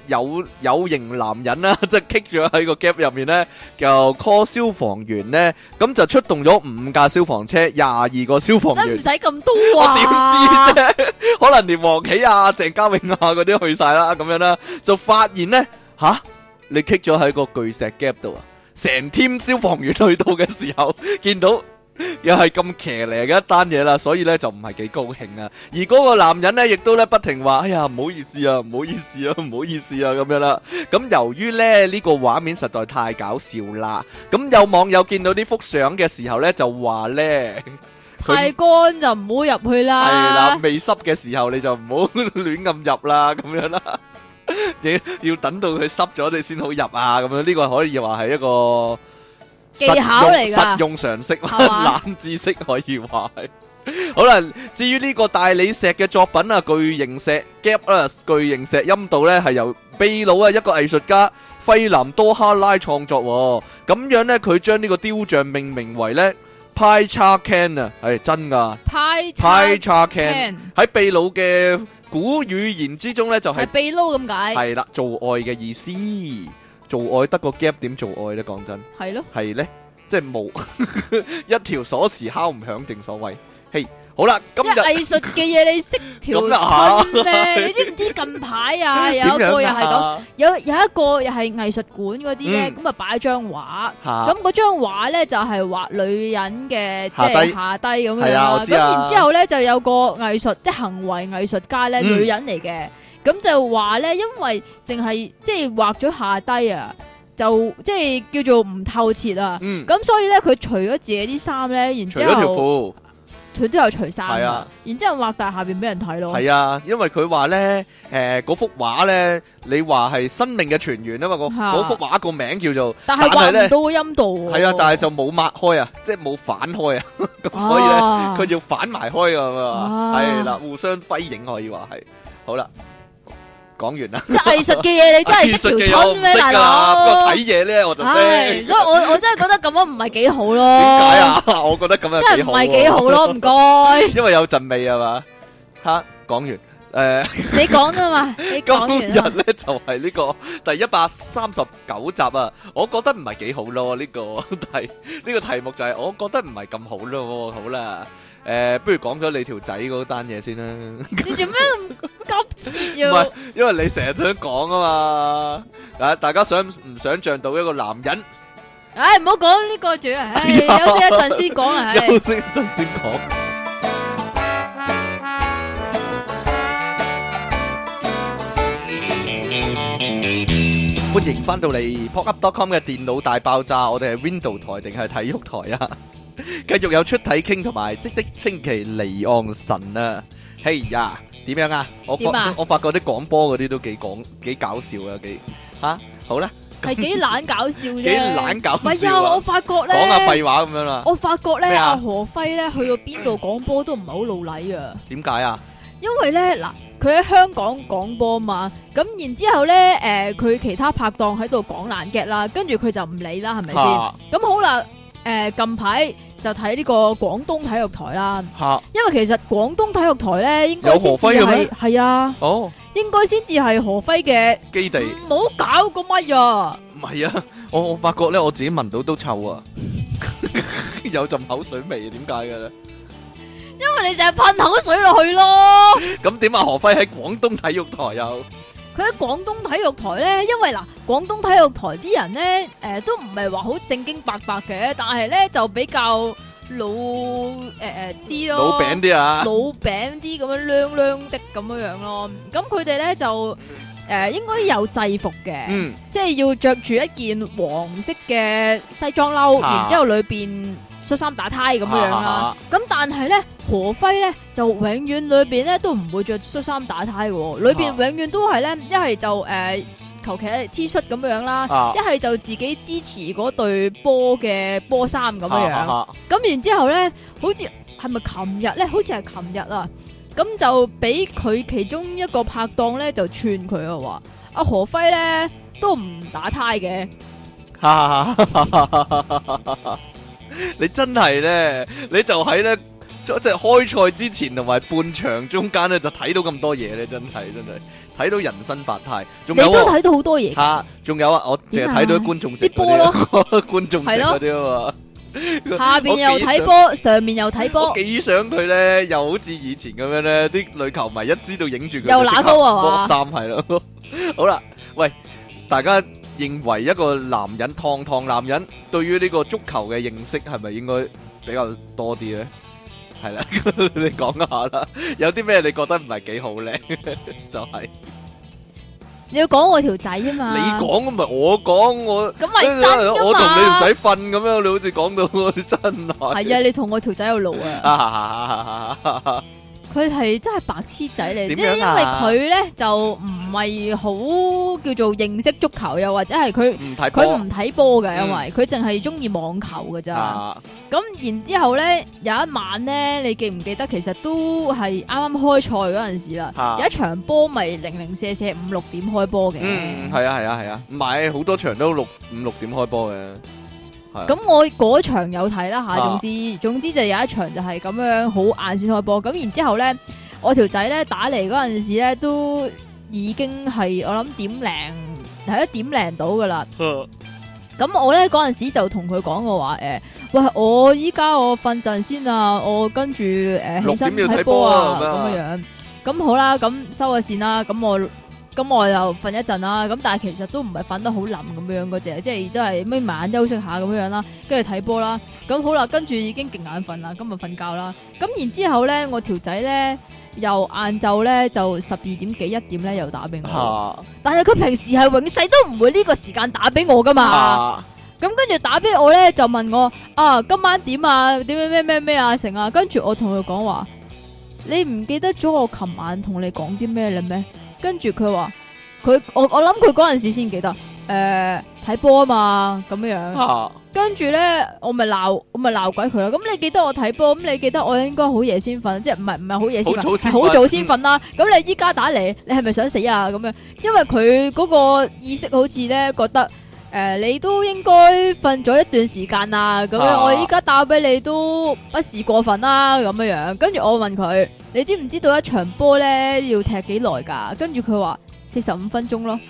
有型男人啦，即係棘咗喺個 gap 入面咧，就 call 消防員咧，咁就出動咗5架消防車，22個消防員。 使唔使咁多啊？ 我點知啫？可能連黃喜啊、鄭嘉穎啊嗰啲去晒啦，咁樣啦，就發現咧你棘咗喺個巨石 gap 度啊！成 team 消防員去到嘅時候，見到又係咁騎呢嘅一單嘢啦，所以咧就唔係幾高興啊。而嗰個男人咧，亦都咧不停話：哎呀，唔好意思啊，唔好意思啊，唔好意思啊，咁樣啦。咁由於咧呢個畫面實在太搞笑啦，咁有網友見到呢幅相嘅時候咧，就話咧。 太乾就唔好入去啦。 係啦，未濕嘅時候你就唔好亂咁入啦，咁樣啦。要等到佢濕咗你先好入啊，咁樣呢個可以話係一個技巧嚟㗎， 實用常識，冷知識可以話係。好啦，至於呢個大理石嘅作品啊，巨型石 gap 啦，巨型石陰道咧係由秘魯一個藝術家費南多哈拉創作，咁樣咧佢將呢個雕像命名為咧派叉 can 啊，係真噶派叉 can 喺秘魯嘅古語言之中咧就係秘魯咁解， 係啦，做愛嘅意思，做愛得個 gap 點做愛咧？講真係咯， 係咧，即係冇一條鎖匙敲唔響，正所謂。嘿，好啦，今日藝術嘅嘢你識條春咩？你知唔知近排啊有一個又係咁，有一個又係藝術館嗰啲咧，咁啊擺張畫，咁嗰張畫咧就係畫女人嘅即係下低咁樣啦。咁然之後咧就有個藝術即係行為藝術家咧，女人嚟嘅，咁就話咧，因為淨係即係畫咗下低啊。就即係叫做唔透徹啊，咁所以咧佢除咗自己啲衫咧，然之後除咗條褲，佢都有除衫，係啊，然之後畫大下邊俾人睇咯。係啊， 因為佢話咧，嗰幅畫咧，你話係生命嘅泉源啊嘛，嗰幅畫個名叫做，但係畫唔到個陰道。係啊，但係就冇抹開啊，即係冇反開啊，咁所以咧佢要反埋開㗎嘛，係啦，互相輝映可以話係，好啦。講完啦，即係藝術嘅嘢，你真係識條春咩，大佬？不過睇嘢咧，我就識。 所以我真係覺得咁樣唔係幾好咯。 點解啊？我覺得咁樣真係唔係幾好咯，唔該。 因為有陣味係嘛？吓，講完你講啊嘛，你講完。今日咧就係呢個第139集啊，我覺得唔係幾好咯。呢個題目就係我覺得唔係咁好咯。好啦。不如講咗你條仔嗰單嘢先啦。 你做咩咁急切要？ 唔係，因為你成日想講啊嘛。大家想唔想象到一個男人？ 唉，唔好講呢個住啊！唉，休息一陣先講啊！ 休息一陣先講。歡迎翻到嚟 popup.com 嘅電腦大爆炸，我哋係 Window 台定係體育台啊？繼續有出體傾同埋即的清奇離岸神啊！嘿呀，點樣啊？我發覺啲廣播嗰啲都幾搞笑啊！好啦， 係幾懶搞笑啫， 幾懶搞笑。 唔係啊，我發覺咧， 講下廢話咁樣啦。 我發覺咧，阿何輝咧去到邊度廣播都唔係好老禮啊。點解啊？因為咧嗱，佢喺香港廣播嘛，咁然之後咧，佢其他拍檔喺度講爛 gag 啦，跟住佢就唔理啦，係咪先？咁好啦。近排就睇呢個廣東體育台啦，因為其實廣東體育台咧應該先至係啊，應該先至係何輝嘅基地。唔好搞個乜啊！唔係啊，我發覺咧我自己聞到都臭啊，有陣口水味，點解嘅咧？因為你成日噴口水落去咯。咁點啊？何輝喺廣東體育台又？佢喺廣東體育台咧，因為嗱，廣東體育台啲人咧，都唔係話好正經白白嘅，但係咧就比較老啲咯，老餅啲啊，老餅啲咁樣靚靚的咁樣咯。咁佢哋咧就應該有制服嘅，即係要着住一件黃色嘅西裝褸，然之後裏邊恤衫打呔咁樣啦，咁但係咧何輝咧就永遠裏邊咧都唔會着恤衫打呔嘅，裏邊永遠都係咧一係就求其 T 恤咁樣啦，一係就自己支持嗰對波嘅波衫咁樣，咁然之後咧好似係咪琴日咧？好似係琴日啊，咁就俾佢其中一個拍檔咧就串佢啊，話阿何輝咧都唔打呔嘅。你真係咧，你就喺咧即係開賽之前同埋半場中間咧，就睇到咁多嘢咧，真係睇到人生百態。仲有你都睇到好多嘢嚇，仲有啊，我淨係睇到啲觀眾席啲波咯， 觀眾席嗰啲啊嘛。 下邊又睇波，上面又睇波。 我幾想佢咧，又好似以前咁樣咧，啲女球迷一知道影住佢又揦高啊嘛， 剝衫係咯。好啦，喂，大家認為一個男人，堂堂男人，對於呢個足球嘅認識係咪應該比較多啲咧？係啦，你講下啦，有啲咩你覺得唔係幾好咧？就係你要講我條仔啊嘛， 你講咁咪我講我， 咁咪真㗎嘛， 我同你條仔瞓咁樣，你好似講到真係。 係啊，你同我條仔有路啊。佢係真係白痴仔嚟，即係因為佢咧就唔係好叫做認識足球，又或者係佢唔睇波嘅，因為佢淨係中意網球㗎咋。咁然之後咧有一晚咧，你記唔記得其實都係啱啱開賽嗰陣時啦，有一場波咪零零舍舍5、6點開波嘅。 係啊，唔係好多場都5、6點開波嘅。 咁我嗰場有睇啦吓，總之就有一場就係咁樣好晏先開波。咁然之後咧，我條仔咧打嚟嗰陣時咧，都已經係我諗1點到噶啦。咁我咧嗰陣時就同佢講我話喂，我依家我瞓陣先啊，我跟住起身睇波啊咁樣。咁好啦，咁收咗線啦，咁我就瞓一陣啦，咁但係其實都唔係瞓得好冧咁樣嗰隻，即係都係眯埋眼休息下咁樣啦，跟住睇波啦，咁好啦，跟住已經勁眼瞓啦，今日瞓覺啦，咁然之後咧，我條仔咧又晏晝咧就12點幾1點咧又打俾我，但係佢平時係永世都唔會呢個時間打俾我噶嘛，咁跟住打俾我咧就問我今晚點啊，點咩啊成啊，跟住我同佢講話，你唔記得咗我琴晚同你講啲咩啦咩？跟住佢話我諗佢嗰陣時先記得睇波啊嘛咁樣，跟住咧我咪鬧鬼佢啦。咁你記得我睇波，咁你記得我應該好夜先瞓，即係唔係好夜先瞓，係好早先瞓啦。咁你依家打嚟，你係咪想死啊？咁樣，因為佢嗰個意識好似咧覺得你都應該瞓咗一段時間啊。咁樣我依家打俾你都不是過分啦咁樣。跟住我問佢，你知唔知道一場波咧要踢幾耐噶？跟住佢話45分鐘咯。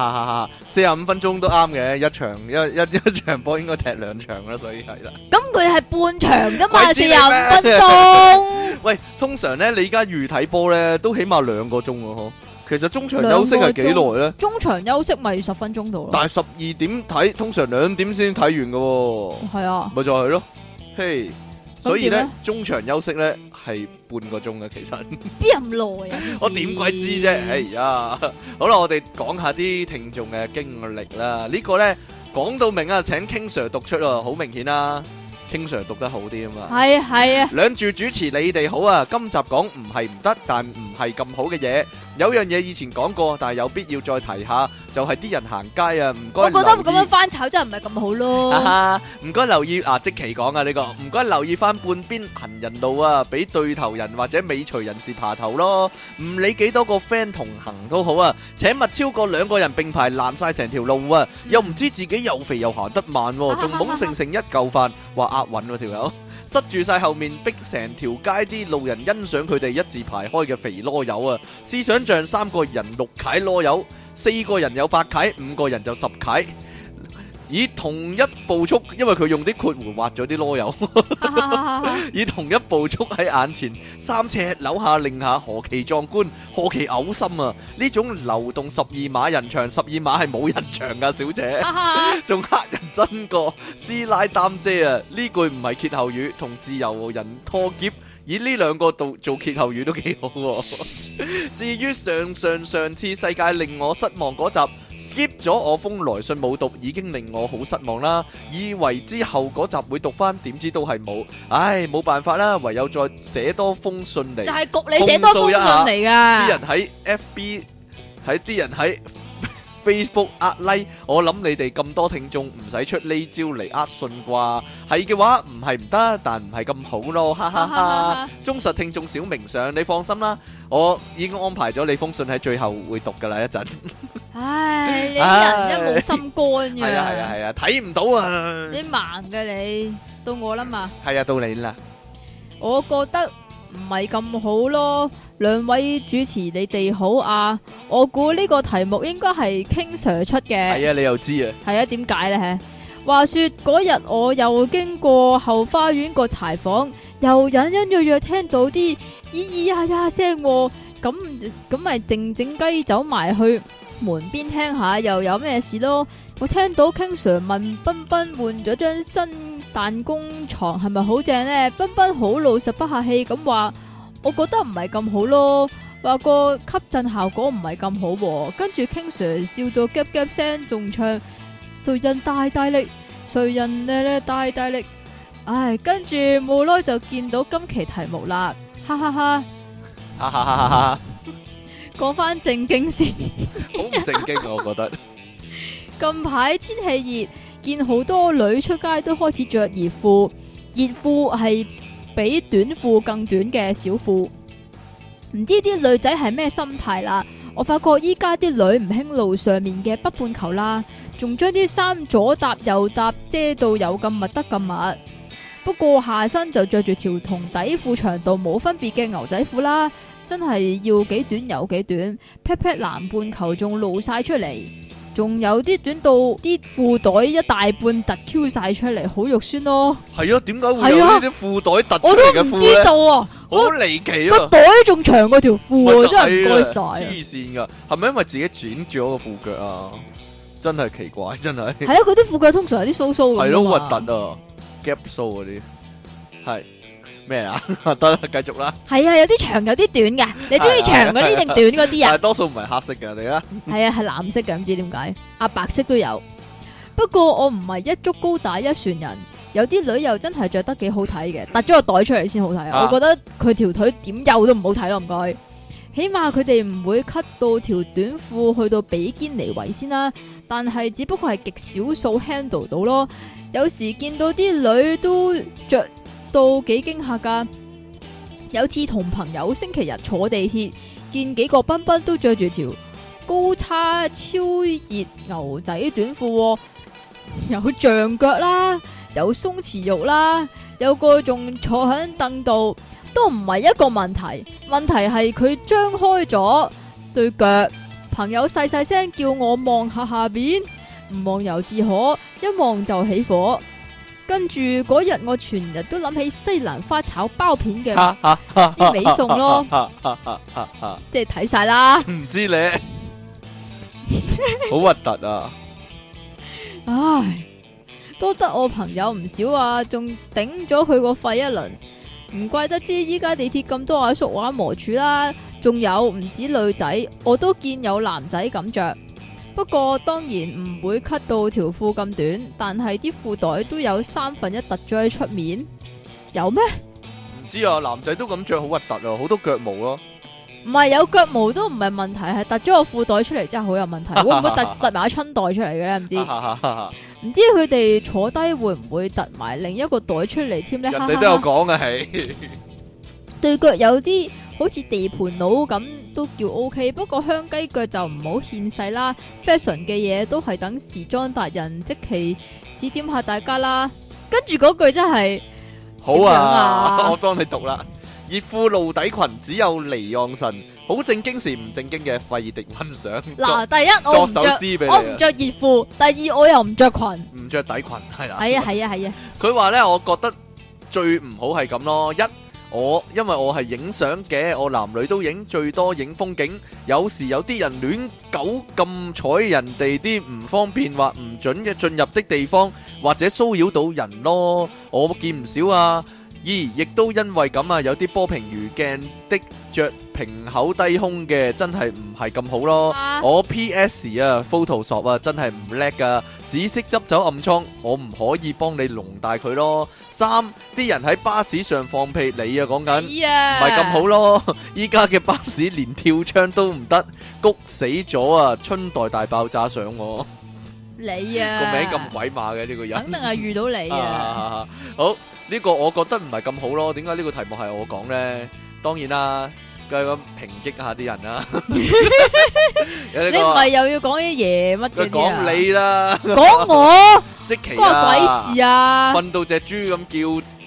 45分鐘都啱嘅，一場波應該踢2場啦，所以係啦。 咁佢係半場啫嘛，45分鐘。 喂，通常咧你而家預睇波咧都起碼2個鐘咯，其實中場休息係幾耐咧？ 中場休息咪10分鐘度咯。 但係12點睇，通常2點先睇完噶。係啊， 咪就係咯，嘿。所以咧，中場休息咧係半個鐘嘅，其實邊咁耐啊？ 我點鬼知啫？哎呀，好啦，我哋講下啲聽眾嘅經歷啦。呢個咧講到明啊，請 King Sir 讀出啊，好明顯啦。King Sir 讀得好啲啊嘛， 係啊， 兩住主持你哋好啊。今集講唔係唔得，但唔係咁好嘅嘢。有樣嘢以前講過，但係有必要再提下，就係啲人行街啊，唔該。我覺得咁樣翻炒真係唔係咁好咯。 唔該留意即期講啊呢個，唔該留意翻半邊行人路啊，俾對頭人或者尾隨人士爬頭咯。唔理幾多個 friend 同行都好啊，請勿超過2個人並排爛晒成條路啊，又唔知自己又肥又行得慢，仲懵成一嚿飯，話押韻喎條友，塞住晒後面，逼成條街啲路人欣賞佢哋一字排開嘅肥囉柚啊！試想像3個人6契囉柚，4個人有8契，5個人就10契。以同一步速，因為佢用啲括弧畫咗啲囉柚，以同一步速喺眼前3尺扭下擰下，何其壯觀，何其嘔心啊！呢種流動12碼人牆，12碼係冇人牆噶，小姐，仲黑人真過師奶擔遮啊！呢句唔係歇後語，同自由人拖劫。以呢2個做歇後語都幾好喎。至於上次世界令我失望嗰集 skip 咗我封來信冇讀，已經令我好失望啦。以為之後嗰集會讀翻，點知都係冇。唉，冇辦法啦，唯有再寫多封信嚟，就係焗你寫多封信嚟噶。啲人喺 FB，啲人喺Facebook like， 我諗你哋咁多聽眾唔使出呢招嚟信啩，係嘅話唔係唔得，但唔係咁好咯，哈哈哈！忠實聽眾小明上，你放心啦，我已經安排咗你封信喺最後會讀噶啦一陣。 唉，你人真冇心肝嘅。 係啊，睇唔到啊！ 你盲嘅你，到我啦嘛。 係啊，到你啦。 我覺得唔係咁好咯。兩位主持你哋好啊，我估呢個題目應該係 King Sir 出嘅。 係啊，你又知啊？ 係啊，點解呢？話說嗰日我又經過後花園個柴房，又隱隱約約聽到啲咿咿呀呀聲，咁咪靜靜雞走埋去門邊聽下，又有咩事咯？我聽到 King Sir 問彬彬換咗張新彈弓床係咪好正呢？彬彬好老實不客氣咁話，我覺得唔係咁好咯，話個吸震效果唔係咁好喎。跟住 King Sir 笑到夾夾聲，仲唱誰人大大力，誰人咧大大力。唉，跟住冇耐就見到今期題目啦，哈哈哈， 哈哈哈哈！ 講翻正經先， 好唔正經我覺得。 近排天氣熱，見好多女出街都開始着熱褲，熱褲係比短褲更短嘅小褲，唔知啲女仔係咩心態啦。我發覺依家啲女唔興路上面嘅北半球啦，仲將啲衫左搭右搭，遮到有咁密得咁密。不過下身就着住條同底褲長度冇分別嘅牛仔褲啦，真係要幾短有幾短，pat pat 南半球仲露晒出嚟，仲有啲短到啲褲袋一大半突 Q 晒出嚟，好肉酸咯。 係啊，點解會有呢啲褲袋突出我嚟嘅褲都唔知道啊， 好離奇啊！ 個袋仲長過條褲啊，真係唔該晒。 黐線噶，係咪因為自己剪咗個褲腳啊？真係奇怪，真係。 係啊，佢啲褲腳通常有啲鬚鬚咁。 係咯，核突啊，gap 鬚嗰啲係咩啊？得啦，繼續啦。 係啊，有啲長有啲短嘅，你中意長嗰啲定短嗰啲啊？ 但係多數唔係黑色嘅，你啊。 係啊，係藍色嘅，唔知點解啊，白色都有。不過我唔係一竹篙打一船人，有啲女又真係着得幾好睇嘅，突咗個袋出嚟先好睇啊！我覺得佢條腿點幼都唔好睇咯，唔該。起碼佢哋唔會 cut 到條短褲去到比堅尼圍先啦，但係只不過係極少數 handle 到咯。有時見到啲女都着到幾驚嚇噶。有次同朋友星期日坐地鐵，見幾個賓賓都着住條高叉超熱牛仔短褲，有象腳啦，有鬆弛肉啦，有個仲坐喺凳度，都唔係一個問題。問題係佢張開咗對腳，朋友細細聲叫我望下下邊，唔望猶自可，一望就起火。跟住嗰日我全日都諗起西蘭花炒包片嘅啲尾餸咯，即係睇晒啦。 唔知你好核突啊！ 唉，多得我朋友唔少啊，仲頂咗佢個肺一輪。唔怪得知依家地鐵咁多阿叔玩磨柱啦。仲有唔止女仔，我都見有男仔咁着。不過當然唔會 cut 到條褲咁短，但係啲褲袋都有1/3突咗喺出面，有咩？ 唔知啊，男仔都咁着好核突啊，好多腳毛咯。 唔係有腳毛都唔係問題，係突咗個褲袋出嚟真係好有問題。會唔會突埋個春袋出嚟嘅咧？唔知。唔知佢哋坐低會唔會突埋另一個袋出嚟添咧？ 人哋都有講嘅係。 對腳有啲好似地盤佬咁都叫 OK， 不過香雞腳就唔好獻世啦。fashion 嘅嘢都係等時裝達人即期指點下大家啦。跟住嗰句真係好啊，我幫你讀啦。熱褲露底裙只有離岸神，好正經時唔正經嘅費迪溫想。 嗱，第一我唔着熱褲，第二我又唔着裙， 唔着底裙係啦。 係啊係啊係啊。 佢話咧，我覺得最唔好係咁咯。因為我係影相嘅，我男女都影，最多影風景。有時有啲人亂狗咁睬人哋啲唔方便或唔準嘅進入的地方，或者騷擾到人咯。我見唔少啊。亦都因為咁啊，有啲波平如鏡的着平口低胸嘅，真係唔係咁好咯。我 PS 啊 Photoshop 啊真係唔叻噶，只識執走暗瘡，我唔可以幫你濃大佢咯。3啲人喺巴士上放屁，你啊講緊唔係咁好咯。依家嘅巴士連跳窗都唔得，谷死咗啊！春代大爆炸上我。 你啊個名咁鬼馬嘅呢個人， 肯定係遇到你啊！ 好，呢個我覺得唔係咁好咯。點解呢個題目係我講咧？當然啦，梗係咁抨擊下啲人啦。你唔係又要講啲嘢乜嘅？ 講你啦， 講我， 即期關鬼事啊！ 瞓到隻豬咁叫，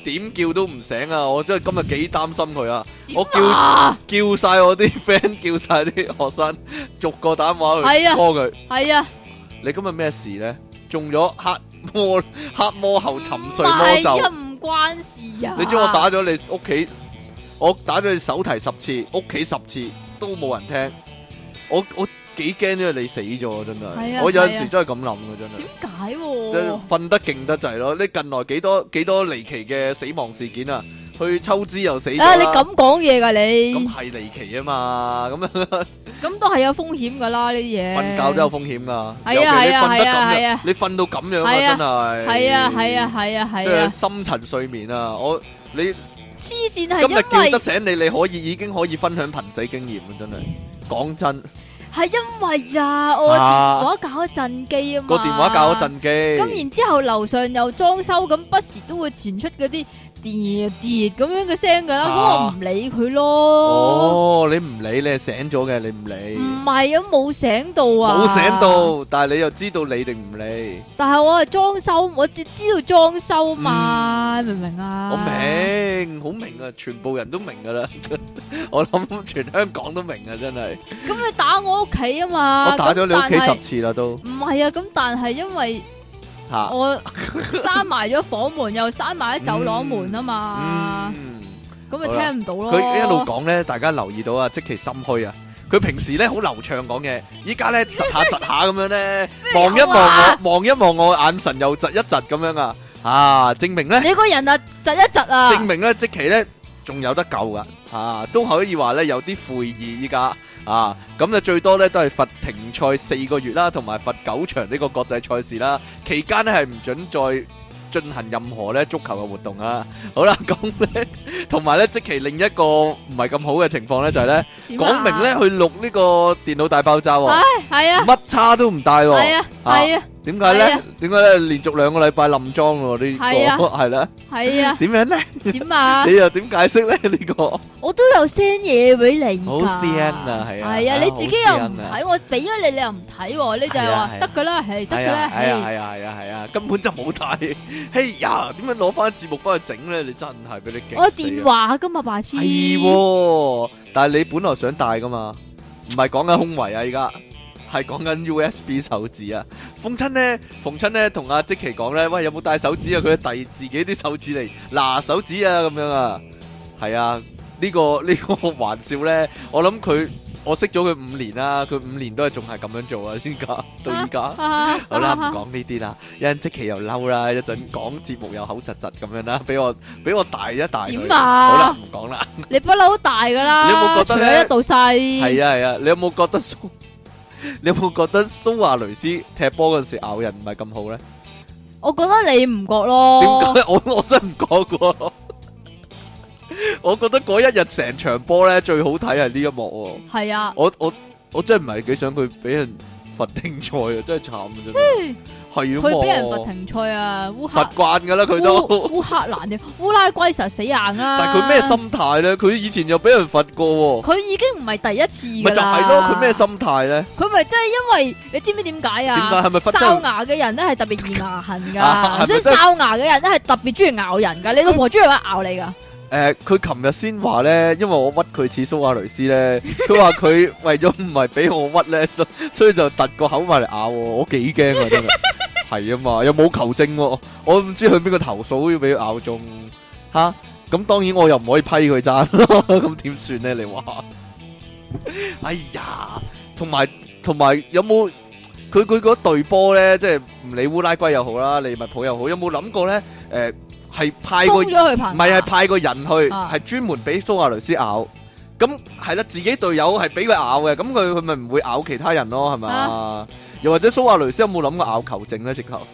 點叫都唔醒啊！我真係今日幾擔心佢啊！ 點我叫晒我啲 friend， 叫晒啲學生，逐個打電話去 call 佢。 係啊， 你今日咩事咧？中咗黑魔后沉睡魔咒。 唔關事啊！ 你知我打咗你屋企，我打咗你手提10次，屋企10次都冇人聽。我幾驚因為你死咗真係。我有陣時真係咁諗嘅真係。點解？ 即係瞓得勁得滯咯！你近來幾多離奇嘅死亡事件啊？去抽脂又死咗啦！ 你咁講嘢㗎你？ 咁係離奇啊嘛！ 咁都係有風險㗎啦呢啲嘢。瞓覺都有風險㗎。 係啊！ 你瞓到咁樣啊，真係。 係啊！ 即係深層睡眠啊！你黐線係因為今日叫得醒你，已經可以分享瀕死經驗啊！真係講真。 係因為我電話搞咗震機啊嘛， 個電話搞咗震機， 咁然之後樓上又裝修，咁不時都會傳出嗰啲跌咁樣嘅聲噶啦，咁我唔理佢咯。 哦，你唔理，你係醒咗嘅，你唔理。唔係啊，冇醒到啊， 冇醒到，但係你又知道理定唔理？ 但係我係裝修，我只知道裝修嘛，明唔明啊？ 我明，好明啊，全部人都明噶啦，我諗全香港都明啊，真係。咁你打我屋企啊嘛？ 我打咗你屋企10次啦都。 唔係啊，咁但係因為我閂埋咗房門，又閂埋咗走廊門啊嘛，咁咪聽唔到咯。 佢一路講咧，大家留意到啊，即其心虛啊。佢平時咧好流暢講嘢，依家咧窒下咁樣咧，望一望我，眼神又窒一窒咁樣啊，證明咧你個人啊窒一窒啊， 證明咧即其咧仲有得救噶，都可以話咧有啲悔意依家咁就最多咧都係罰停賽4個月啦，同埋罰9場呢個國際賽事啦，期間咧係唔准再進行任何咧足球嘅活動啊！好啦，咁咧，同埋咧，即其另一個唔係咁好嘅情況咧，就係咧，講明咧去錄呢個電腦大爆炸喎，係啊，乜叉都唔帶喎，係啊，點解咧？點解咧？連續2個禮拜冧裝喎呢個，係啦，係啊，點樣咧？點啊？你又點解釋咧？呢個我都有 send 嘢俾你， 好 send 啊，係啊， 係啊，你自己又唔睇，我俾咗你，你又唔睇，你就係話得噶啦，係得噶啦，係啊，根本就冇睇。嘿呀，點樣攞翻節目翻去整咧？你真係俾你激死！ 我電話噶嘛，白痴。 係，但係你本來想帶噶嘛，唔係講緊胸圍啊，而家係講緊 USB 手指啊。逢親咧，同阿積淇講咧，喂，有冇帶手指啊？佢遞自己啲手指嚟，嗱手指啊，咁樣啊。係啊，呢個玩笑咧，我識咗佢5年啦，佢5年都係仲係咁樣做啊，先噶到依家。好啦，唔講呢啲啦，一陣積淇又嬲啦，一陣講節目又口窒窒咁樣啦，俾我大一大。點啊？好啦，唔講啦。你不嬲大噶啦，你有冇覺得咧？一度細。係啊，你有冇覺得蘇亞雷斯踢波嗰陣時咬人唔係咁好咧？我覺得你唔覺咯。點解？我真唔覺噶。我覺得嗰一日成場波咧最好睇係呢一幕喎。係啊，我真係唔係幾想佢俾人罰停賽啊，真係慘啊真係。係啊，佢俾人罰停賽啊，罰慣噶啦佢都。烏克蘭嘅烏拉圭實死硬啦。但係佢咩心態咧？佢以前又俾人罰過。佢已經唔係第一次噶啦。咪就係咯，佢咩心態咧？佢咪真係因為你知唔知點解啊？點解係咪哨牙嘅人咧係特別易牙痕噶？所以哨牙嘅人咧係特別中意咬人噶。你老婆中意咬你噶？佢琴日先話咧，因為我屈佢似蘇亞雷斯咧，佢話佢為咗唔係俾我屈咧，所以就突個口埋嚟咬我，我幾驚啊真係，係啊嘛，又冇求證，我唔知去邊個投訴要俾佢咬中，咁當然我又唔可以批佢爭咯，咁點算咧？你話，哎呀，同埋有冇佢嗰隊波咧，即係唔理烏拉圭又好啦，利物浦又好，有冇諗過咧？係派個唔係派個人去，係專門俾蘇亞雷斯咬。咁係啦，自己隊友係俾佢咬嘅，咁佢咪唔會咬其他人咯，係咪？又或者蘇亞雷斯有冇諗過咬球證咧？直頭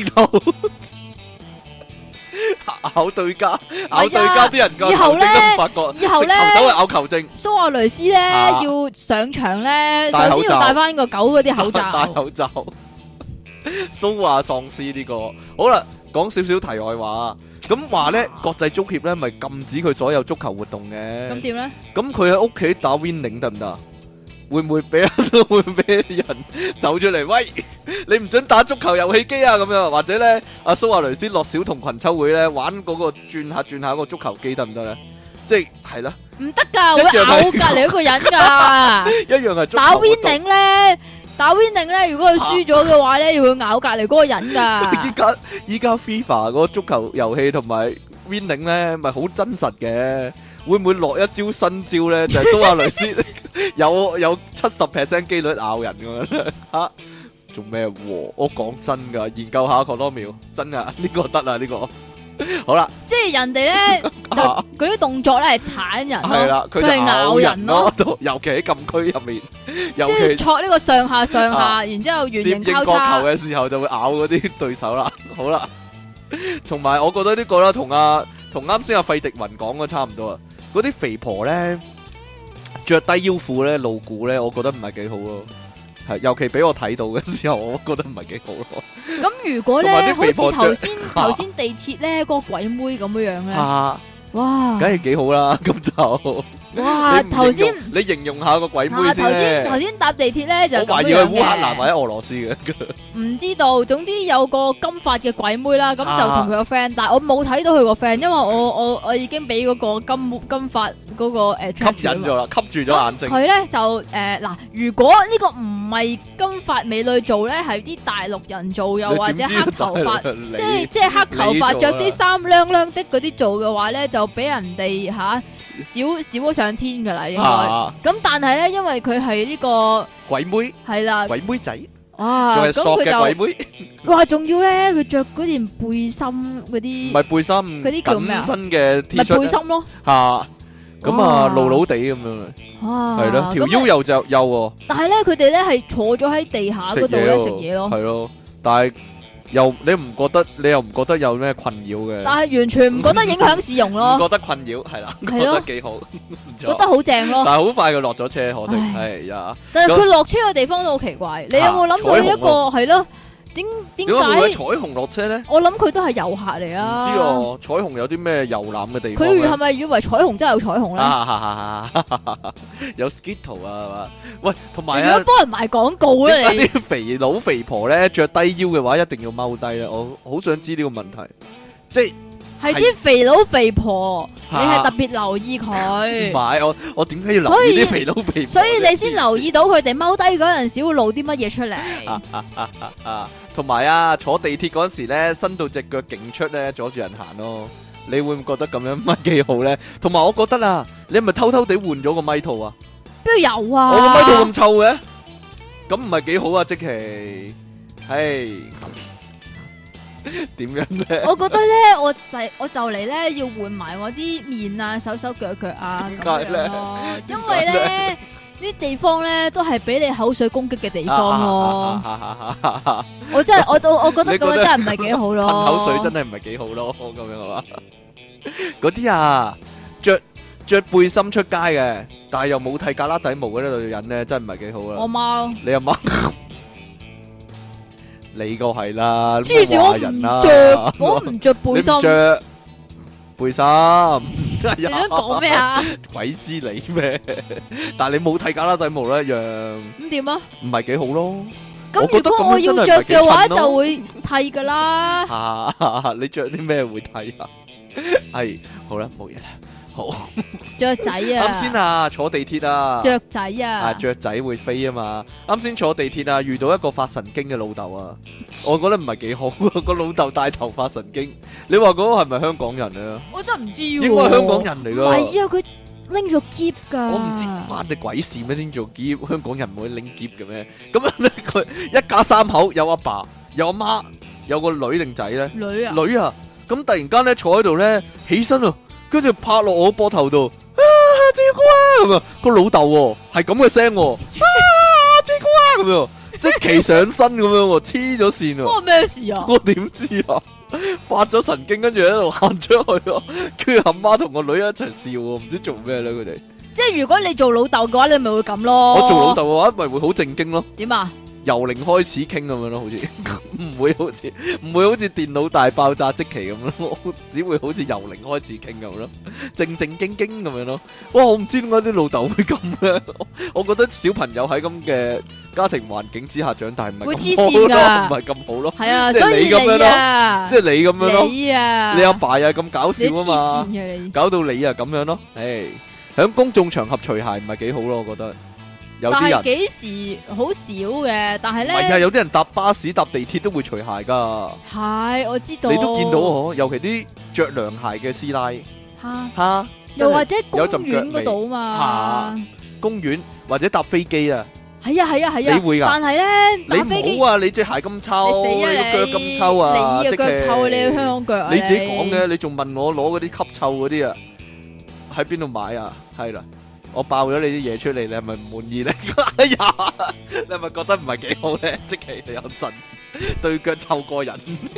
咬對家啲人個球證都唔發覺，以後咧走去咬球證。蘇亞雷斯咧要上場咧，首先要戴翻個狗嗰啲口罩。戴口罩。蘇亞喪屍呢個好啦，講少少題外話。咁話咧，國際足協咧咪禁止佢所有足球活動嘅。咁點咧？咁佢喺屋企打 Winning 得唔得？ 會唔會俾人走出嚟？喂，你唔准打足球遊戲機啊！咁樣或者咧，阿蘇亞雷斯落小童群秋會咧玩嗰個轉下嗰個足球機得唔得咧？即係啦， 唔得噶，會咬隔籬嗰個人噶。 一樣係足球打 winning 咧，如果佢輸咗嘅話咧，要會咬隔籬嗰個人噶。 依家 FIFA 嗰個足球遊戲同埋 winning 咧，咪好真實嘅。會唔會落一招新招咧？就係蘇亞雷斯有70% 機率咬人咁樣吓？做咩？我講真噶，研究下確多秒，真噶呢個得啦，呢個好啦。 即係人哋咧就嗰啲動作咧係鏟人咯， 係啦，佢係咬人咯， 尤其喺禁區入面， 即係戳呢個上下，然之後圓形交叉。 接應角球嘅時候就會咬嗰啲對手啦。好啦，同埋我覺得呢個啦，同啱先阿費迪雲講嘅差唔多啊。嗰啲肥婆咧着低腰褲咧露骨咧，我覺得唔係幾好咯。係，尤其俾我睇到嘅時候，我覺得唔係幾好咯。 咁如果咧，好似頭先地鐵咧嗰個鬼妹咁樣樣咧，哇， 梗係幾好啦。咁就哇，頭先你形容下個鬼妹先。 頭先搭地鐵咧就咁樣嘅。 我懷疑係烏克蘭或者俄羅斯嘅。 唔知道，總之有個金髮嘅鬼妹啦，咁就同佢個 friend，但係我冇睇到佢個 friend，因為我已經俾嗰個金髮嗰個吸引咗啦，吸住咗眼睛。 佢咧就嗱，如果呢個唔係金髮美女做咧，係啲大陸人做，又或者黑頭髮，即係黑頭髮着啲衫亮亮的嗰啲做嘅話咧，就俾人哋少咗上天噶啦，應該。咁但係咧，因為佢係呢個鬼妹， 係啦， 鬼妹仔。 哇！ 咁佢就鬼妹， 哇！仲要咧，佢着嗰件背心嗰啲， 唔係背心， 嗰啲叫咩啊？ 緊身嘅 T 恤， 咪背心咯。 吓，咁啊，露露地咁樣， 哇， 係咯，條腰又就幼。 但係咧，佢哋咧係坐咗喺地下嗰度咧食嘢咯。 係咯，但係你又唔覺得有咩困擾嘅？ 但係完全唔覺得影響市容咯。 唔覺得困擾係啦，覺得幾好， 覺得好正咯。 但係好快佢落咗車，可惜係呀。 但係佢落車嘅地方都好奇怪，你有冇諗到一個係咯？點解彩虹落車咧？ 我諗佢都係遊客嚟啊！ 唔知哦，彩虹有啲咩遊覽嘅地方？ 佢係咪以為彩虹真係有彩虹咧？ 有 Skittle 啊，係嘛？喂，同埋你如果幫人賣廣告咧，你啲肥佬肥婆咧着低腰嘅話，一定要踎低咧。我好想知呢個問題，即係啲肥佬肥婆，你係特別留意佢。 唔係，我點解要留意啲肥佬肥婆？ 所以你先留意到佢哋踎低嗰陣時會露啲乜嘢出嚟。 同埋坐地鐵嗰時咧，伸到隻腳勁出咧，阻住人行咯。你會唔會覺得咁樣乜幾好咧？同埋我覺得啊，你係咪偷偷地換咗個咪套啊？ 邊有啊？ 我個咪套咁臭嘅，咁唔係幾好啊？即其，係點樣咧？ 我覺得咧，我就嚟咧要換埋我啲面啊、手腳啊咁樣咯，因為咧呢啲地方咧都係俾你口水攻擊嘅地方咯。我覺得咁樣真係唔係幾好咯。 噴口水真係唔係幾好咯，咁樣係嘛？嗰啲着背心出街嘅，但係又冇剃格拉底毛嗰啲女人咧，真係唔係幾好啦。 我媽， 你阿媽，你個係啦， 黐線我唔着背心， 着背心。 你想講咩啊？ 鬼知你咩？但係你冇剃格拉底毛咧，一樣咁點啊？ 唔係幾好咯。 咁如果我要着嘅話，就會剃噶啦。 你着啲咩會剃啊？係好啦，冇嘢啦。好雀仔啊！ 啱先坐地鐵啊， 雀仔啊， 雀仔會飛啊嘛。啱先坐地鐵遇到一個發神經嘅老豆啊，我覺得唔係幾好。個老豆帶頭發神經，你話嗰個係咪香港人啊？ 我真係唔知喎， 應該係香港人嚟噶。 唔係啊，佢拎咗篋噶。 我唔知關你鬼事咩？拎咗篋，香港人唔會拎篋嘅咩？咁樣咧，佢一家三口，有阿爸，有阿媽，有個女定仔咧？女啊！咁突然間咧坐喺度咧，起身啊！跟住拍落我膊頭度，志哥咁啊！個老豆係咁嘅聲，志哥咁樣，即係騎上身咁樣，黐咗線啊！ 關我咩事啊？ 我點知啊？發咗神經，跟住喺度行出去咯，跟住阿媽同個女一齊笑，唔知做咩咧佢哋。 即係如果你做老豆嘅話，你咪會咁咯。 我做老豆嘅話，咪會好正經咯。 點啊？ 由零開始傾咁樣咯，好似唔會好似電腦大爆炸即期咁樣咯，只會好似由零開始傾咁咯，正正經經咁樣咯。哇！我唔知點解啲老豆會咁咧，我覺得小朋友喺咁嘅家庭環境之下長大唔係會黐咁好咯， 線㗎唔係咁好咯。 係啊， 即係所以你咁樣咯啊， 即係你咁樣咯， 你啊， 你阿爸又係咁搞笑你黐啊嘛線，嘅你。 搞到你啊咁樣咯。誒，喺公眾場合除鞋唔係幾好咯，我覺得有但係啲人。 幾時好少嘅，但係唔係啊， 咧有啲人搭巴士搭地鐵都會除鞋噶， 係我知道， 你都見到嗬，尤其啲着涼鞋嘅師奶嚇， 吓， 又或者公有陣腳園嗰度嚇嘛， 公園或者搭飛機啊， 係啊係啊係啊， 你會㗎但係咧你搭飛機唔好啊，你隻鞋咁臭， 你死啊你個腳咁臭啊， 你嘅腳臭啊，你嘅香港腳啊， 你自己講嘅，你仲問我攞嗰啲吸臭嗰啲啊，喺邊度買啊？係啦。我爆咗你啲嘢出嚟，你係咪唔滿意咧？哎呀，你係咪覺得唔係幾好咧？即其你有陣對腳臭過人，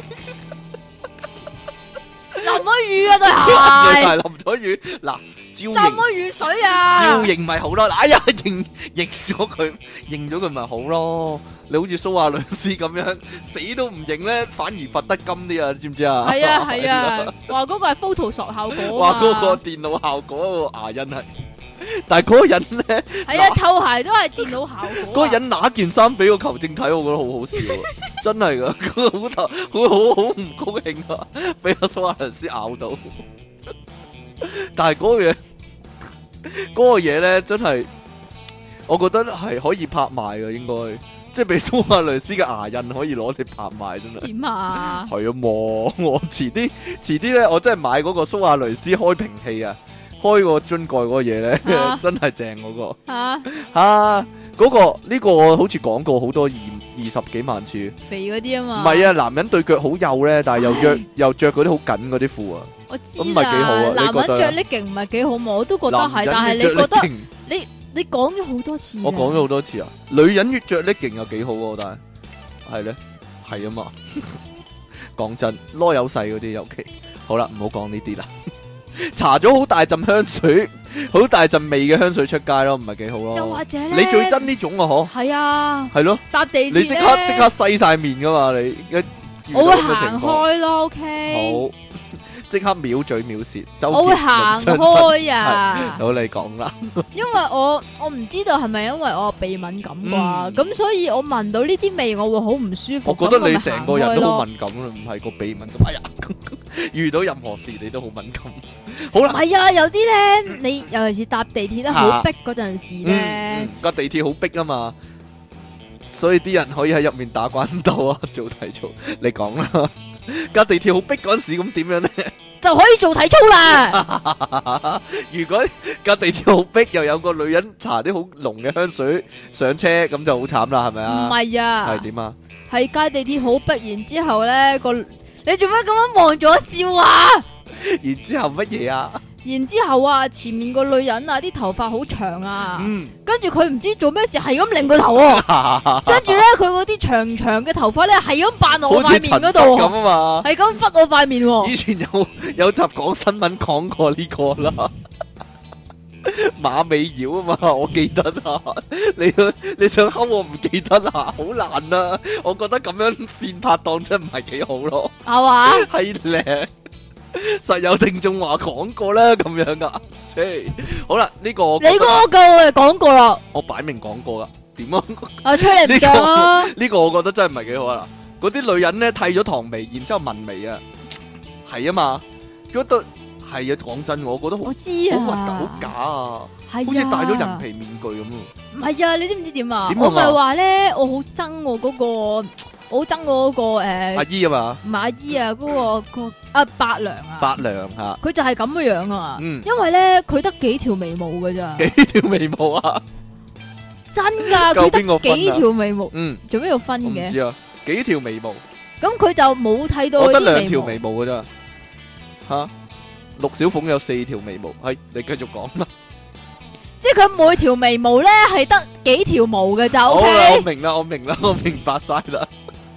淋咗雨啊對你鞋， 係淋咗雨嗱，照浸型咗雨水啊， 照型咪好咯。哎呀，認咗佢咪好咯。你好似蘇亞雷斯咁樣死都唔認咧，反而罰得金啲啊，知唔知啊？ 係啊係啊，話嗰個係 Photoshop 效果話啊嘛， 嗰個電腦效果個牙印係，但係嗰個人咧。 係啊，臭鞋都係電腦效果啊。 嗰個人拿件衫俾個球證睇，我覺得好好笑啊！真係噶，佢好唔高興啊，俾阿蘇亞雷斯咬到。但係嗰個嘢咧，真係我覺得係可以拍賣嘅，應該即係俾蘇亞雷斯嘅牙印可以攞嚟拍賣，真係。 點啊？ 係啊，我遲啲咧，我真係買嗰個蘇亞雷斯開瓶器啊！開個樽蓋嗰個嘢咧，真係正嗰個嚇嗰個呢個我好似講過好多20幾萬次， 肥嗰啲啊嘛。 唔係啊，男人對腳好幼咧，但係又着嗰啲好緊嗰啲褲啊， 我知咁咪幾好啊啦，男你覺得人着 legging 唔係幾好嘛？我都覺得係， 男人但係你着覺得 legging 你講咗好多次。 我講咗好多次啊，女人越着 legging 又幾好喎，但係咧係啊嘛，講真，囉柚細嗰啲尤其好啦，唔好講呢啲啦。搽咗好大陣香水，好大陣味嘅香水出街咯，唔係幾好咯。 又或者咧， 你最憎呢種啊？嗬， 係啊， 係咯， 搭地鐵你即刻洗晒面噶嘛？你一遇到我會咁嘅情況， 行開咯，OK。 好，即刻藐嘴藐舌， 我會行開啊， 好，你講啦。 因為我唔知道係咪因為我鼻敏感啩，咁所以我聞到呢啲味我會好唔舒服。 我覺得你成個人都好敏敏感啦，唔係個鼻敏感。哎呀，遇到任何事你都好敏感。好啦， 係啊，有啲咧，你尤其是搭地鐵咧好逼嗰陣時咧， 個地鐵好逼啊嘛，所以啲人可以喺入面打關鬥啊，做體操。你講啦，架地鐵好逼嗰陣時，咁點樣咧？ 就可以做體操啦。 如果架地鐵好逼，又有個女人搽啲好濃嘅香水上車，咁就好慘啦，係咪啊？ 唔係啊， 係點啊？ 係架地鐵好逼，然之後咧你做乜咁樣望住我笑啊？ 然之後乜嘢啊？ 然之後啊，前面個女人啊，啲頭髮好長啊， 嗯， 跟住佢唔知做咩事，係咁擰個頭喎，跟住咧佢嗰啲長長嘅頭髮咧，係咁扮落我塊面嗰度咁喎， 啊嘛。 係咁忽我塊面喎。 以前有集講新聞講過呢個啦，馬尾妖啊嘛，我記得啊。你想睺我唔記得啊？好難啊！我覺得咁樣線拍檔真唔係幾好咯。 係嘛？ 係咧，實有聽眾話講過啦，咁樣噶。好啦，呢個我覺得你嗰個我講過啦， 我擺明講過啦。點啊？ 啊吹你唔脹啊！ 呢個我覺得真係唔係幾好啊！嗰啲女人咧剃咗唐眉，然之後紋眉啊，係啊嘛，覺得係啊。講真，我覺得好我知好核突， 啊， 好假啊， 係好似戴咗人啊， 皮面具咁啊！ 唔係啊，你知唔知點啊？ 點啊我咪話咧，我好憎我嗰個，我好憎我嗰個阿姨啊嘛， 唔係阿姨啊，嗰個阿伯娘啊， 伯娘吓， 佢就係咁嘅樣啊， 嗯， 因為咧佢得幾條眉毛㗎咋， 幾條眉毛啊？ 真㗎，佢夠邊個分啊得幾條眉毛， 嗯， 做咩要分嘅？ 我唔知啊，幾條眉毛？ 咁佢就冇睇到我得嗰啲 2條眉毛， 毛㗎咋吓？陸小鳳有4條眉毛，係你繼續講啦。 即係佢每條眉毛咧係得幾條毛嘅就好啦，我 OK。 明啦，我明白晒啦。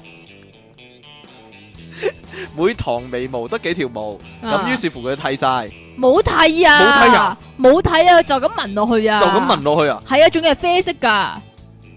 每堂眉毛得幾條毛，咁於是乎佢剃晒， 冇剃啊， 冇剃啊， 冇剃啊，就咁紋落去啊， 就咁紋落去啊！ 係啊，仲要係啡色噶，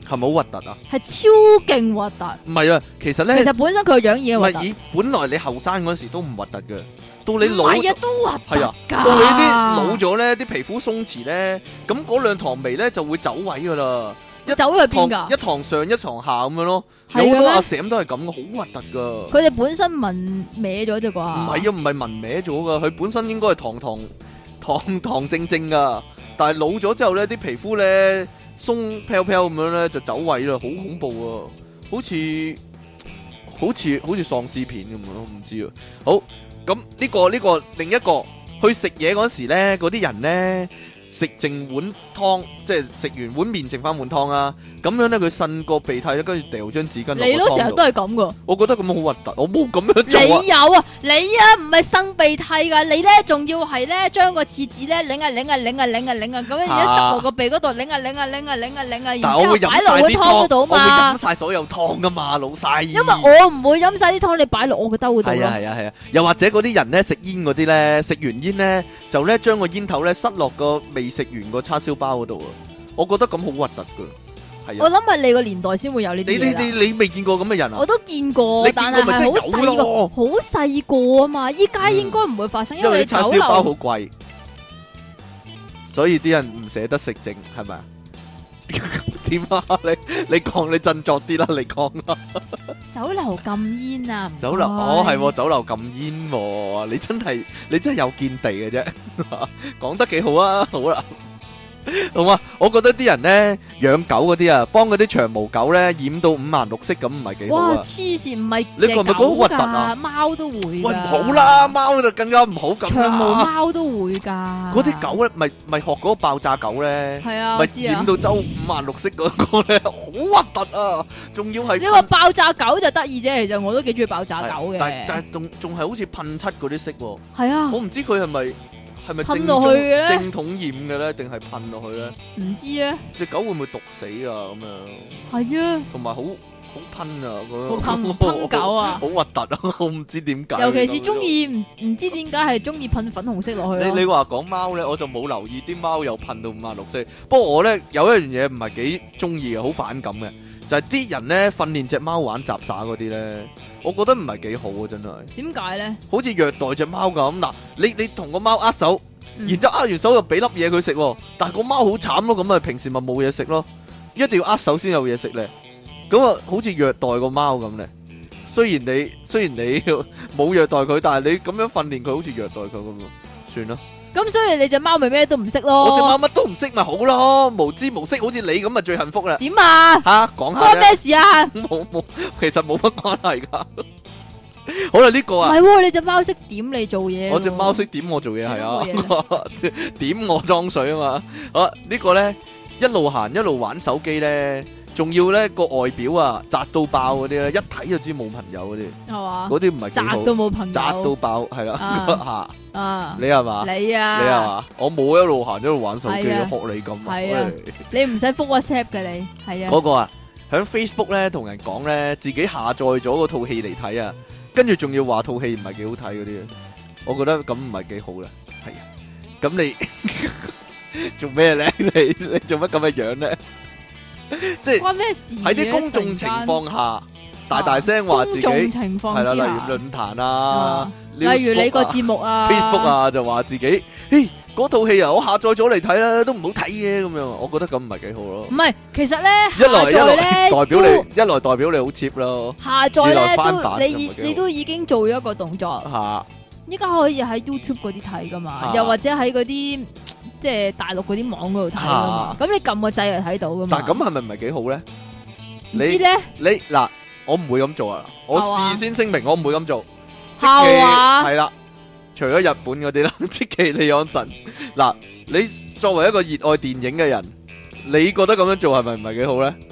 係咪好核突啊？ 係超勁核突。 唔係啊，其實咧， 其實本身佢個樣已經核突。 唔係本來你後生嗰時都唔核突嘅，到你老係啊，都核突係啊，到你啲老咗咧，啲皮膚鬆弛咧，咁嗰兩堂眉咧就會走位噶啦。 走去邊㗎？ 一堂上一堂下咁樣咯， 係嘅咩有好多阿嬸都係咁嘅，好核突噶。 佢哋本身紋歪咗啫啩？ 唔係啊，唔係紋歪咗噶，佢本身應該係堂正正噶，但係老咗之後咧，啲皮膚咧鬆飄飄咁樣咧就走位啦，好恐怖啊！好似喪屍片咁樣，我唔知啊。好，咁呢個另一個去食嘢嗰時咧，嗰啲人咧。食剩碗湯，即係食完碗麵剩翻碗湯啊！咁樣咧，佢擤個鼻涕咧，跟住掉張紙巾落個湯度。 你都成日都係咁噶？ 我覺得咁樣好核突，我冇咁樣做啊！ 你有啊？你啊，唔係擤鼻涕噶，你咧仲要係咧將個廁紙咧擰啊，咁樣而家塞落個鼻嗰度擰啊，然之後擺落個湯嗰度嘛。 我會飲晒所有湯噶嘛，老細。 因為我唔會飲晒啲湯，你擺落我個兜嗰度咯。 係啊，又或者嗰啲人咧食煙嗰啲咧，食完煙咧就咧將個煙頭咧塞落個未食完個叉燒包嗰度啊！我覺得咁好核突噶，係啊！ 我諗係你個年代先會有呢啲嘢啦。 你未見過咁嘅人啊？ 我都見過，但係係好細個啊嘛！依家應該唔會發生，因為叉燒包好貴，所以啲人唔捨得食剩，係咪啊？點啊？你講，你振作啲啦！你講啦！ 酒樓禁煙啊！ 酒樓係酒樓禁煙喎！你真係有見地嘅啫，講得幾好啊！好啦。好嘛，我覺得啲人咧養狗嗰啲啊，幫嗰啲長毛狗咧染到五顏六色咁，唔係幾好啊！ 哇，黐線，唔係你覺唔覺得好核突啊？ 貓都會㗎。 喂，唔好啦，貓就更加唔好咁啦。 長毛貓都會㗎。 嗰啲狗咧，咪學嗰個爆炸狗咧， 係啊， 咪染到周五顏六色嗰個咧，好核突啊！仲要係你話爆炸狗就得意啫，其實我都幾中意爆炸狗嘅。 但係仲係好似噴漆嗰啲色喎。 係啊， 我唔知佢係咪噴落去嘅咧？ 正統染嘅咧，定係噴落去咧？ 唔知咧。隻狗會唔會毒死啊？咁樣係啊， 同埋好噴啊！ 好噴狗啊！ 好核突啊！我唔知點解。 尤其是中意唔知點解係中意噴粉紅色落去咯。 你話講貓咧，我就冇留意啲貓又噴到五顏六色。不過我咧有一樣嘢唔係幾中意嘅，好反感嘅，就係啲人咧訓練隻貓玩雜耍嗰啲咧，我覺得唔係幾好啊！真係。點解咧？好似虐待隻貓咁嗱，你同個貓握手，然之後握完手又俾粒嘢佢食，但係個貓好慘咯，咁啊平時咪冇嘢食咯，一定要握手先有嘢食咧。咁啊，好似虐待個貓咁咧。雖然你冇虐待佢，但係你咁樣訓練佢，好似虐待佢咁，算啦。咁所以你隻貓咪咩都唔識咯？我隻貓乜都唔識咪好咯，無知無識，好似你咁啊最幸福啦。點啊？吓，講下關咩事啊？冇，其實冇乜關係噶。好啦，呢個啊，唔係，你隻貓識點你做嘢。我隻貓識點我做嘢，係啊，點我裝水啊嘛。好，呢個咧一路行一路玩手機咧。仲要咧個外表啊，窄到爆嗰啲咧，一睇就知冇朋友嗰啲，係嘛？嗰啲唔係窄到冇朋友，窄到爆係啦吓。你係嘛？你係嘛？我冇一路行一路玩手機，學你咁。係啊，你唔使覆 WhatsApp 嘅你。係啊。嗰個啊，響 Facebook 咧同人講咧，自己下載咗嗰套戲嚟睇啊，跟住仲要話套戲唔係幾好睇嗰啲，我覺得咁唔係幾好啦。係啊，咁你做咩咧？你做乜咁嘅樣咧？即係關咩事？喺啲公眾情況下，大聲話自己係啦，例如論壇啊，例如你個節目啊 ，Facebook 啊，就話自己，嗰套戲啊，我下載咗嚟睇啦，都唔好睇嘅咁樣，我覺得咁唔係幾好咯。唔係，其實咧，一來代表你好 cheap 咯。下載咧都你都已經做咗一個動作。吓，依家可以喺 YouTube 嗰啲睇噶嘛，又或者喺嗰啲。即係大陸嗰啲網嗰度睇噶嘛，咁你撳個掣就睇到噶嘛。但係咁係咪唔係幾好咧？唔知咧，你嗱，我唔會咁做啊！我事先聲明，我唔會咁做。係啦，除咗日本嗰啲啦，積淇離岸神。嗱，你作為一個熱愛電影嘅人，你覺得咁樣做係咪唔係幾好咧？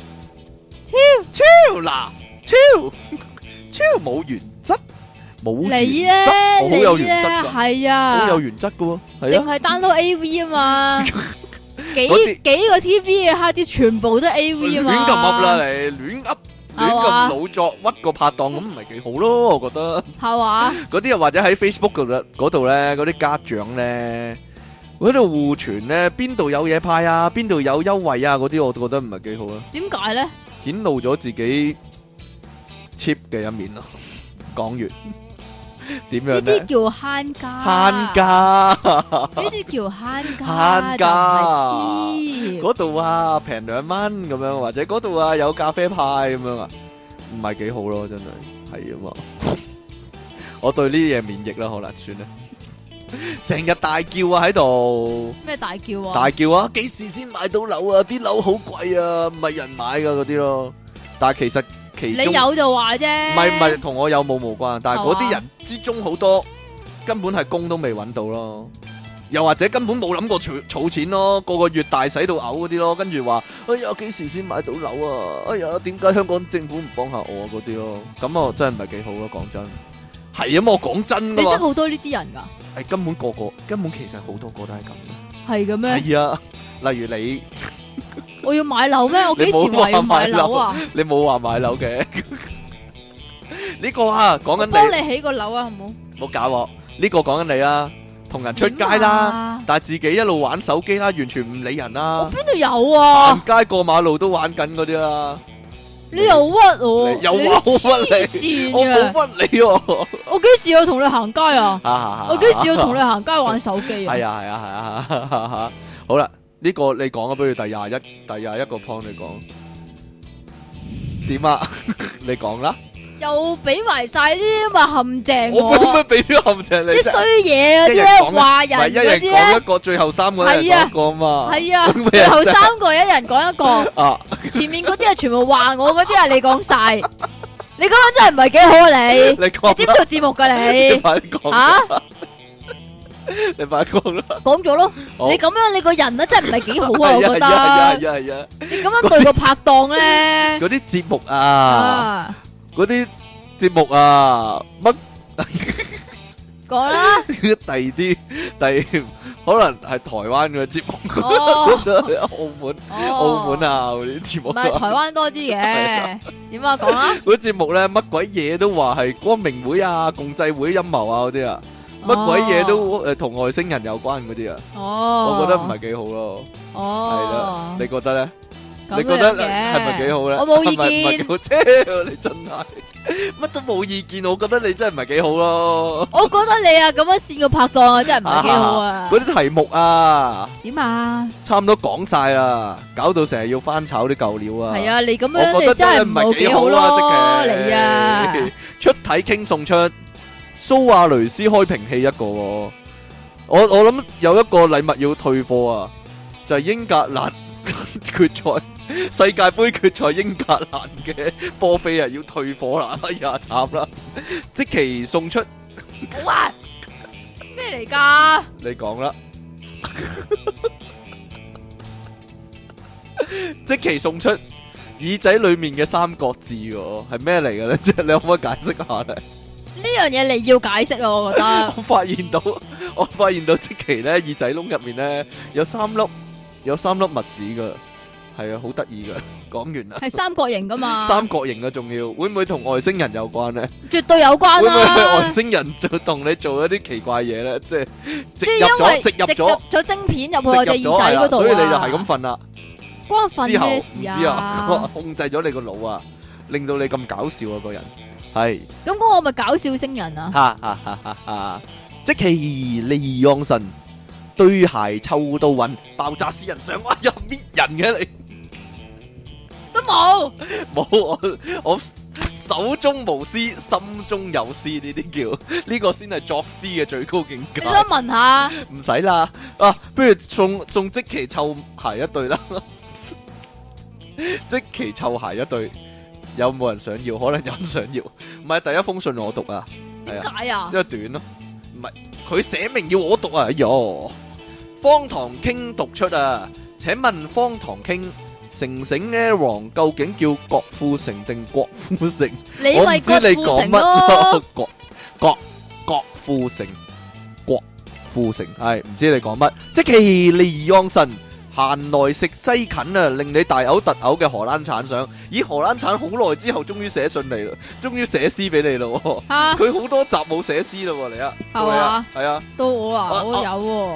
超冇原則。冇你咧，我好有原則噶，係啊，好有原則噶喎，淨係 download AV 啊嘛，幾個 TV 嘅蝦啲全部都 AV 啊嘛，亂咁噏啦你，亂咁老作屈個拍檔咁唔係幾好咯，我覺得係嘛，嗰啲又或者喺 Facebook 嗰度咧，嗰啲家長咧喺度互傳咧，邊度有嘢派啊，邊度有優惠啊，嗰啲我覺得唔係幾好啊。 點解咧？ 顯露咗自己 cheap 嘅一面咯。講完點樣呢咧？ 啲叫慳家， 慳家， 呢啲叫慳家， 慳家就唔係黐。 嗰度啊平2蚊咁樣，或者嗰度啊有咖啡派咁樣啊，唔係幾好咯，真係係啊嘛。我對呢啲嘢免疫啦，可能算啦。成日大叫啊喺度， 咩大叫啊？ 大叫啊！幾時先買到樓啊？啲樓好貴啊，唔係人買噶嗰啲咯。但係其實其中你有就話啫， 唔係同我有冇無關，但係嗰啲人之中好多根本係工都未揾到咯，又或者根本冇諗過儲錢咯，個月大使到嘔嗰啲咯，跟住話哎呀幾時先買到樓啊？哎呀點解香港政府唔幫下我啊嗰啲咯？咁啊真係唔係幾好咯，講真係啊嘛，我講真噶嘛， 你識好多呢啲人噶？ 係根本其實好多個都係咁嘅， 係嘅咩？ 係啊，例如你。 我要買樓咩？我幾時話要買樓啊？ 你冇話買樓嘅呢個啊，講緊你幫你起個樓啊，好唔好？ 冇搞我呢個講緊你啊，同人出街啦，但係自己一路玩手機啦，完全唔理人啦。 我邊度有啊？ 行街過馬路都玩緊嗰啲啦。 你又屈我， 又話我屈你，我冇屈你喎。 我幾時有同你行街啊？我幾時有同你行街玩手機啊？ 係啊，好啦。呢個你講啊，不如第廿一個 point 你講點啊？你講啦， 又俾埋晒啲咁嘅陷阱我點解俾啲陷阱你？ 啲衰嘢啊，啲咧話人嗰啲咧， 一人講一個，最後3個人講一個嘛。係啊， 最後3個一人講一個。啊，前面嗰啲係全部話我，嗰啲係你講晒。你咁樣真係唔係幾好啊你？你知唔知做節目噶你？ 你快啲講啊！你快講啦！ 講咗咯，你咁樣你個人咧真係唔係幾好啊，我覺得。 係啊！ 你咁樣對個拍檔咧， 嗰啲節目啊，嗰啲節目啊，乜講啦？ 第可能係台灣嘅節目，澳門啊嗰啲節目， 唔係台灣多啲嘅。點啊？講啦！ 嗰啲節目咧，乜鬼嘢都話係光明會啊、共濟會陰謀啊嗰啲啊。乜鬼嘢都同外星人有關嗰啲啊，我覺得唔係幾好咯。係啦，你覺得咧？你覺得係咪幾好咧？ 我冇意見。 唔係幾好啫，你真係乜都冇意見。我覺得你真係唔係幾好咯。 我覺得你啊咁樣線個拍檔啊，真係唔係幾好啊。 嗰啲題目啊， 點啊？ 差唔多講晒啦，搞到成日要翻炒啲舊料啊。 係啊，你咁樣你真係唔係幾好咯，你啊！ 出體傾送出。蘇亞雷斯開瓶器一個，我諗有一個禮物要退貨啊，就係英格蘭決賽世界盃決賽英格蘭嘅波飛啊，要退貨啦，哎呀慘啦！積淇送出， 哇咩嚟㗎？ 你講啦，積淇送出耳仔裏面嘅3個字喎，係咩嚟嘅咧？即係你可唔可以解釋下咧？ 呢樣嘢你要解釋啊！我覺得我發現到積淇咧耳仔窿入面咧有3粒密屎噶，係啊，好得意噶。講完啦， 係三角形噶嘛？ 三角形嘅仲要，會唔會同外星人有關咧？ 絕對有關啦！ 會唔會外星人就同你做一啲奇怪嘢咧？即係植入咗晶片入去我隻耳仔嗰度， 所以你就係咁瞓啦。 關瞓咩事啊？ 之後控制咗你個腦啊，令到你咁搞笑啊個人。係咁講，我咪搞笑星人啊！ 積淇離岸神對鞋臭到暈，爆炸私人相，哎呀搣人嘅你都冇我手中無私，心中有詩，呢啲叫呢個先係作詩嘅最高境界。 你想問下？ 唔使啦，啊，不如送積淇臭鞋一對啦，積淇臭鞋一對。有冇人想要？可能有人想要。唔係第一封信我讀啊， 點解啊？ 因為短咯，唔係佢寫明要我讀啊。哎喲，方唐傾讀出啊，請問方唐傾成成 Aaron 究竟叫郭富城定郭富城？ 你咪郭富城咯， 郭富城，郭富城係唔知你講乜？積淇離岸神。閒來食西芹啊，令你大嘔特嘔嘅荷蘭橙相，咦荷蘭橙好耐之後終於寫信嚟啦，終於寫詩俾你咯，佢好多集冇寫詩咯，你啊，係啊，係啊， 到我啊，我有喎，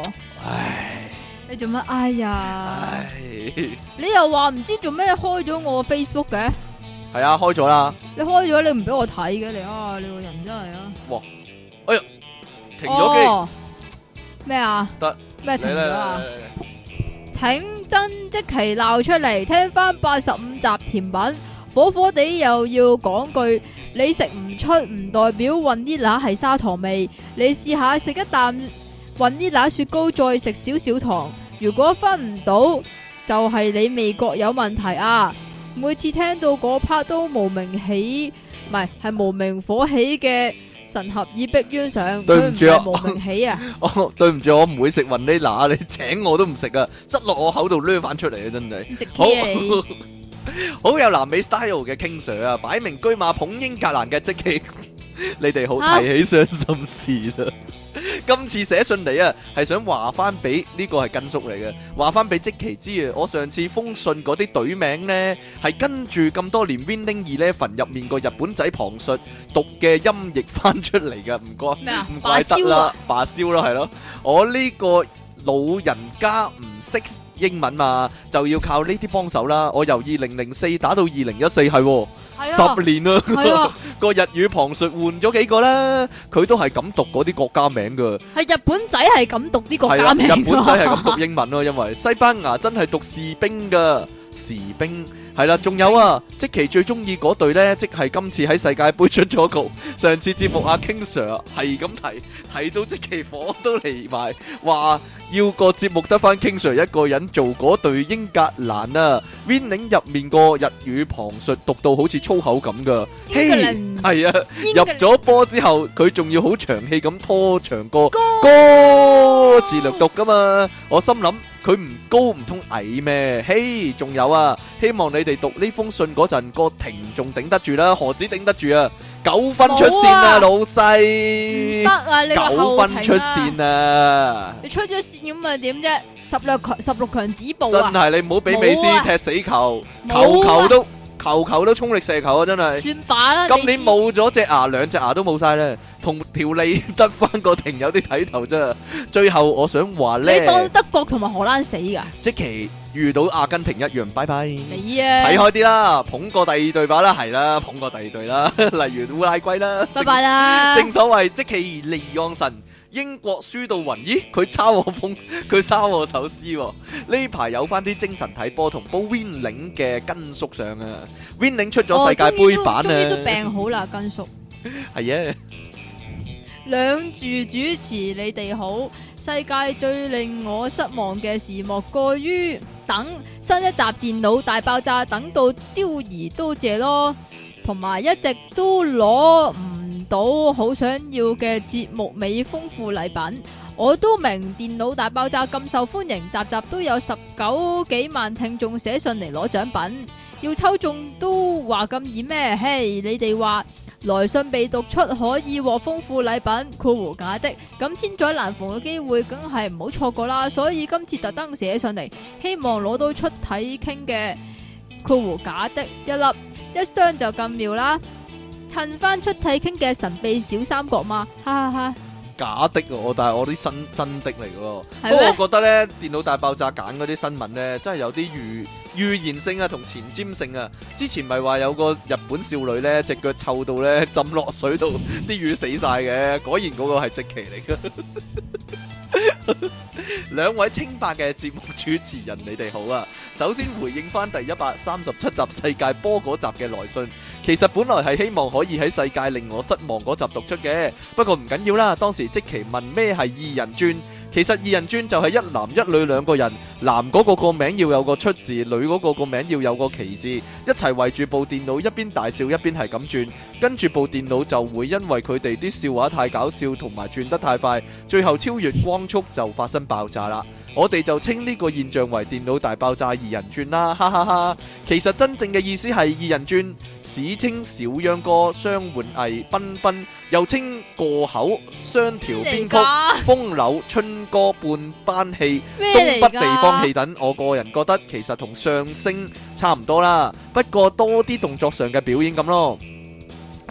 唉， 你做乜？哎呀， 唉， 你又話唔知做咩開咗我 Facebook 嘅？ 係啊，開咗啦。 你開咗，你唔俾我睇嘅你啊！你個人真係啊！ 哇，哎呀，停咗機。 哦咩啊？ 得咩停咗啊？ 嚟請真即期鬧出嚟，聽翻85集甜品，火火地又要講句，你食唔出唔代表雲呢拿係砂糖味，你試下食一啖雲呢拿雪糕，再食少少糖，如果分唔到，就係你味覺有問題啊！每次聽到嗰 part 都無名起，唔係無名火起嘅神合耳逼冤上， 對唔住啊佢唔係無名起啊！ 哦，對唔住，我唔會食雲呢拿，你請我都唔食啊，塞落我口度掠翻出嚟啊，真係。 要食好 K 啊你！ 好有南美 style 嘅 King Sir 啊，擺明車馬捧英格蘭嘅積淇，你哋好提起傷心事啦。今次寫信嚟啊，係想話翻俾呢個係根叔嚟嘅，話翻俾積淇知啊。我上次封信嗰啲隊名呢，係跟住咁多年 Winning 11入面個日本仔旁述讀嘅音譯翻出嚟嘅，唔該， 咩啊？ 唔怪得啦，罷燒咯，係咯。我呢個老人家唔識英文嘛，就要靠呢啲幫手啦。我由2004打到2014，係10年啦。 係啊， 個日語旁述換咗幾個啦，佢都係咁讀嗰啲國家名噶。 係日本仔係咁讀啲國家名， 日本仔係咁讀英文咯，因為西班牙真係讀士兵噶，士兵係啦。仲有啊，積淇最中意嗰隊呢，即係今次喺世界盃出咗局。上次節目阿 King Sir 係咁提到積淇火都嚟埋，話要個節目得翻 King Sir 一個人做嗰隊英格蘭啊。Winning 入面個日語旁述讀到好似粗口咁噶，嘿，係啊，入咗波之後佢仲要好長氣咁拖長歌字略讀噶嘛，我心諗佢唔高唔通矮咩？嘿，仲有啊，希望你哋讀呢封信嗰陣個停仲頂得住啦，何止頂得住啊？9分出線啊，老細， 得啊，你 9分出線啊！ 你出咗線咁啊點啫？16強止步真啊！ 係你唔好俾美斯踢死球，球球都衝力射球啊！真係算把啦。 今年冇咗隻牙，兩隻牙都冇晒咧，同條脷得翻個停有啲睇頭啫。最後我想話咧， 你當德國同埋荷蘭死噶？ 即其遇到阿根廷一樣，拜拜。 你啊， 睇開啲啦，捧過第二隊吧啦，係啦，捧過第二隊啦，例如烏拉圭啦， 拜拜啦。 正所謂即其離岸神。英國輸到暈，咦？佢抄我風，佢抄我首詩喎。呢排有翻啲精神睇波同煲 Winning 嘅根叔上啊 ！Winning 出咗世界盃版啊！ 終於都病好啦，根叔。 係啊， 兩住主持你哋好。世界最令我失望嘅事，莫過於等新一集電腦大爆炸，等到丟而都謝咯，同埋一直都攞唔到好想要嘅節目尾豐富禮品。我都明電腦大爆炸咁受歡迎，集集都有19幾萬聽眾寫信嚟攞獎品，要抽中都話咁易咩？嘿，你哋話來信被讀出可以獲豐富禮品，括弧假的，咁千載難逢嘅機會，梗係唔好錯過啦。所以今次特登寫上嚟，希望攞到出體傾嘅括弧假的一粒，一箱就咁妙啦。襯翻出體傾嘅神秘小三角嘛，哈哈哈！ 假的喎，但係我啲真的嚟嘅喎。 係咩？ 不過我覺得咧，電腦大爆炸揀嗰啲新聞咧，真係有啲預言性啊，同前瞻性啊。之前咪話有個日本少女咧，隻腳臭到咧浸落水度，啲魚死晒嘅。果然嗰個係積淇嚟嘅。兩位清白嘅節目主持人，你哋好啊！首先回應翻第137集世界波嗰集嘅來信，其實本來係希望可以喺世界令我失望嗰集讀出嘅，不過唔緊要啦。當時積淇問咩係二人轉，其實二人轉就係一男一女兩個人，男嗰個個名要有個出字，女嗰個個名要有個奇字，一齊圍住部電腦，一邊大笑一邊係咁轉，跟住部電腦就會因為佢哋啲笑話太搞笑同埋轉得太快，最後超越光速就發生爆炸啦。我哋就稱呢個現象為電腦大爆炸二人轉啦，哈哈哈！其實真正嘅意思係二人轉，史稱小秧歌、雙換藝、賓賓，又稱過口、雙條編曲、風柳、春歌、半班戲、東北地方戲等。我個人覺得其實同相聲差唔多啦，不過多啲動作上嘅表演咁咯。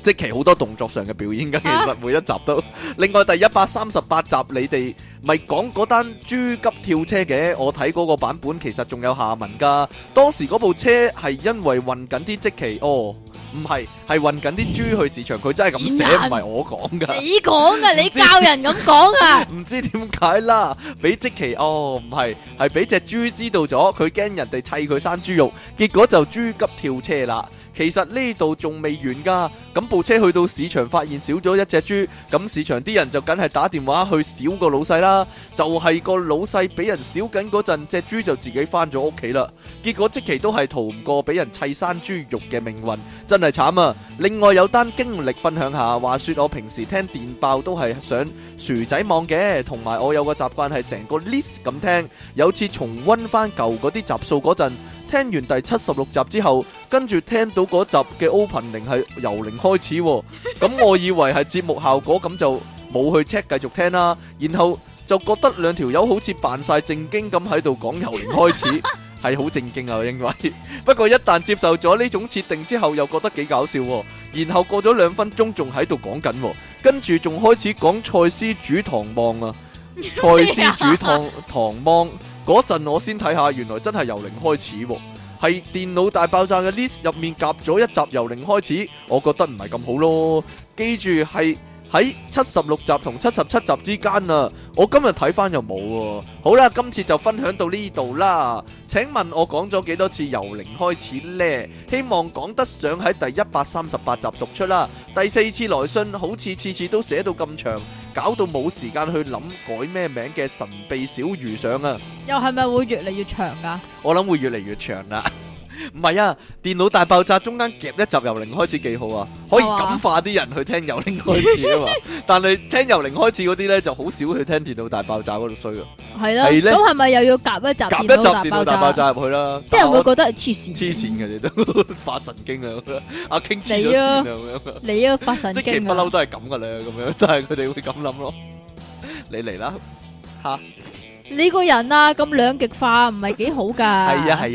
即其好多動作上嘅表演㗎，其實每一集都。另外第138集你哋咪講嗰單豬急跳車嘅，我睇嗰個版本其實仲有下文㗎。當時嗰部車係因為運緊啲積淇，唔係，係運緊啲豬去市場，佢真係咁寫，唔係我講㗎。 你講㗎，你教人咁講㗎。 唔知點解啦，俾積淇唔係，係俾隻豬知道咗，佢驚人哋砌佢生豬肉，結果就豬急跳車啦。其實呢度仲未完㗎，咁部車去到市場發現少咗一隻豬，咁市場啲人就梗係打電話去少個老細啦。就係個老細俾人少緊嗰陣，隻豬就自己翻咗屋企啦。結果積淇都係逃唔過俾人砌生豬肉嘅命運，真係慘啊！另外有單經歷分享下，話說我平時聽電爆都係上薯仔網嘅，同埋我有個習慣係成個 list 咁聽。有次重溫翻舊嗰啲集數嗰陣，聽完第76集之後，跟住聽到嗰集嘅 opening 係由零開始喎，咁我以為係節目效果，咁就冇去 check 繼續聽啦。然後就覺得兩條友好似扮晒正經咁喺度講由零開始，係好正經啊，我認為。不過一旦接受咗呢種設定之後，又覺得幾搞笑喎。然後過咗2分鐘仲喺度講緊，跟住仲開始講蔡司煮糖芒啊，蔡司煮糖芒。嗰陣我先睇下，原來真係由零開始喎，係電腦大爆炸嘅 list 入面夾咗一集由零開始，我覺得唔係咁好咯。記住係喺76集同77集之間啊，我今日睇翻又冇喎。好啦，今次就分享到呢度啦。請問我講咗幾多次由零開始呢？希望講得上喺第138集讀出啦。第4次來信好似次次都寫到咁長，搞到冇時間去諗改咩名嘅神秘小魚上啊！ 又係咪會越嚟越長㗎？ 我諗會越嚟越長啦。唔係啊，電腦大爆炸中間夾一集由零開始幾好啊，可以感化啲人去聽由零開始啊嘛。但係聽由零開始嗰啲咧就好少去聽電腦大爆炸嗰度衰啊。 係啦，咁係咪又要夾一集電腦大爆炸入去啦？ 啲人會覺得黐線嘅你都發神經啊！阿 King 黐咗線啊咁樣。 你啊發神經啊！ 即係不嬲都係咁噶啦，咁樣，但係佢哋會咁諗咯。你嚟啦吓！ 你個人啊咁兩極化唔係幾好噶。 係啊。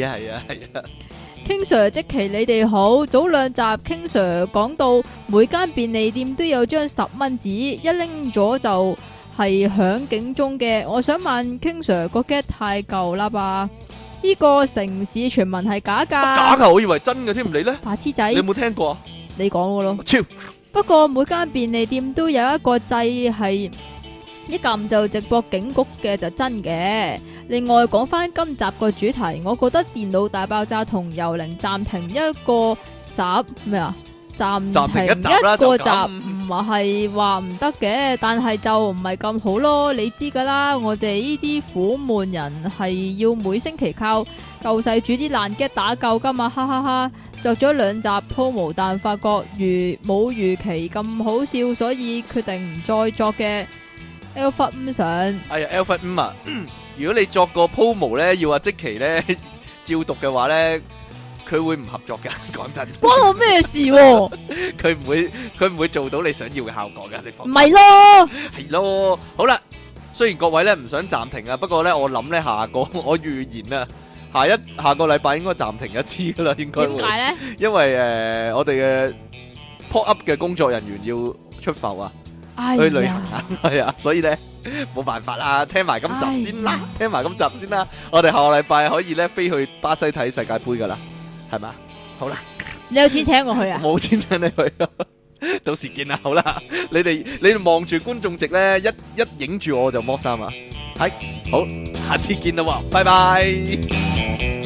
King Sir 積淇你哋好，早2集 King Sir 講到每間便利店都有張10蚊紙，一拎咗就係響警鐘嘅。我想問 King Sir 個 get 太舊啦吧？呢個城市傳聞係假噶？ 假噶，我以為真嘅添，你呢？ 白痴仔， 你有冇聽過啊？ 你講嘅咯。 超。 不過每間便利店都有一個掣係一撳就直播警局嘅，就真嘅。另外講翻今集個主題，我覺得電腦大爆炸同由零暫停一個集咩啊？暫停一個集唔係話唔得嘅，但係就唔係咁好咯。你知噶啦，我哋呢啲苦悶人係要每星期靠救世主啲爛 gag 打救噶嘛，哈哈哈！作咗2集鋪無，但發覺冇預期咁好笑，所以決定唔再作嘅。Alpha 5上， 係啊 Alpha 5啊！如果你作個 promo 咧，要阿積淇咧照讀嘅話咧，佢會唔合作嘅。講真， 關我咩事？ 佢唔會做到你想要嘅效果嘅。你放唔係咯， 係咯。好啦，雖然各位咧唔想暫停啊，不過咧我諗咧我預言啊，下個禮拜應該暫停一次噶啦，應該會。點解咧？因為我哋嘅 pop up 嘅工作人員要出埠啊。去旅行啊，係啊，所以咧冇辦法啦，聽埋今集先啦，我哋下個禮拜可以咧飛去巴西睇世界杯噶啦，係嘛？好啦， 你有錢請我去啊？ 冇錢請你去啊，到時見啦，好啦，你哋望住觀眾席咧，一影住我就剝衫啊，係好，下次見啦喎，拜拜。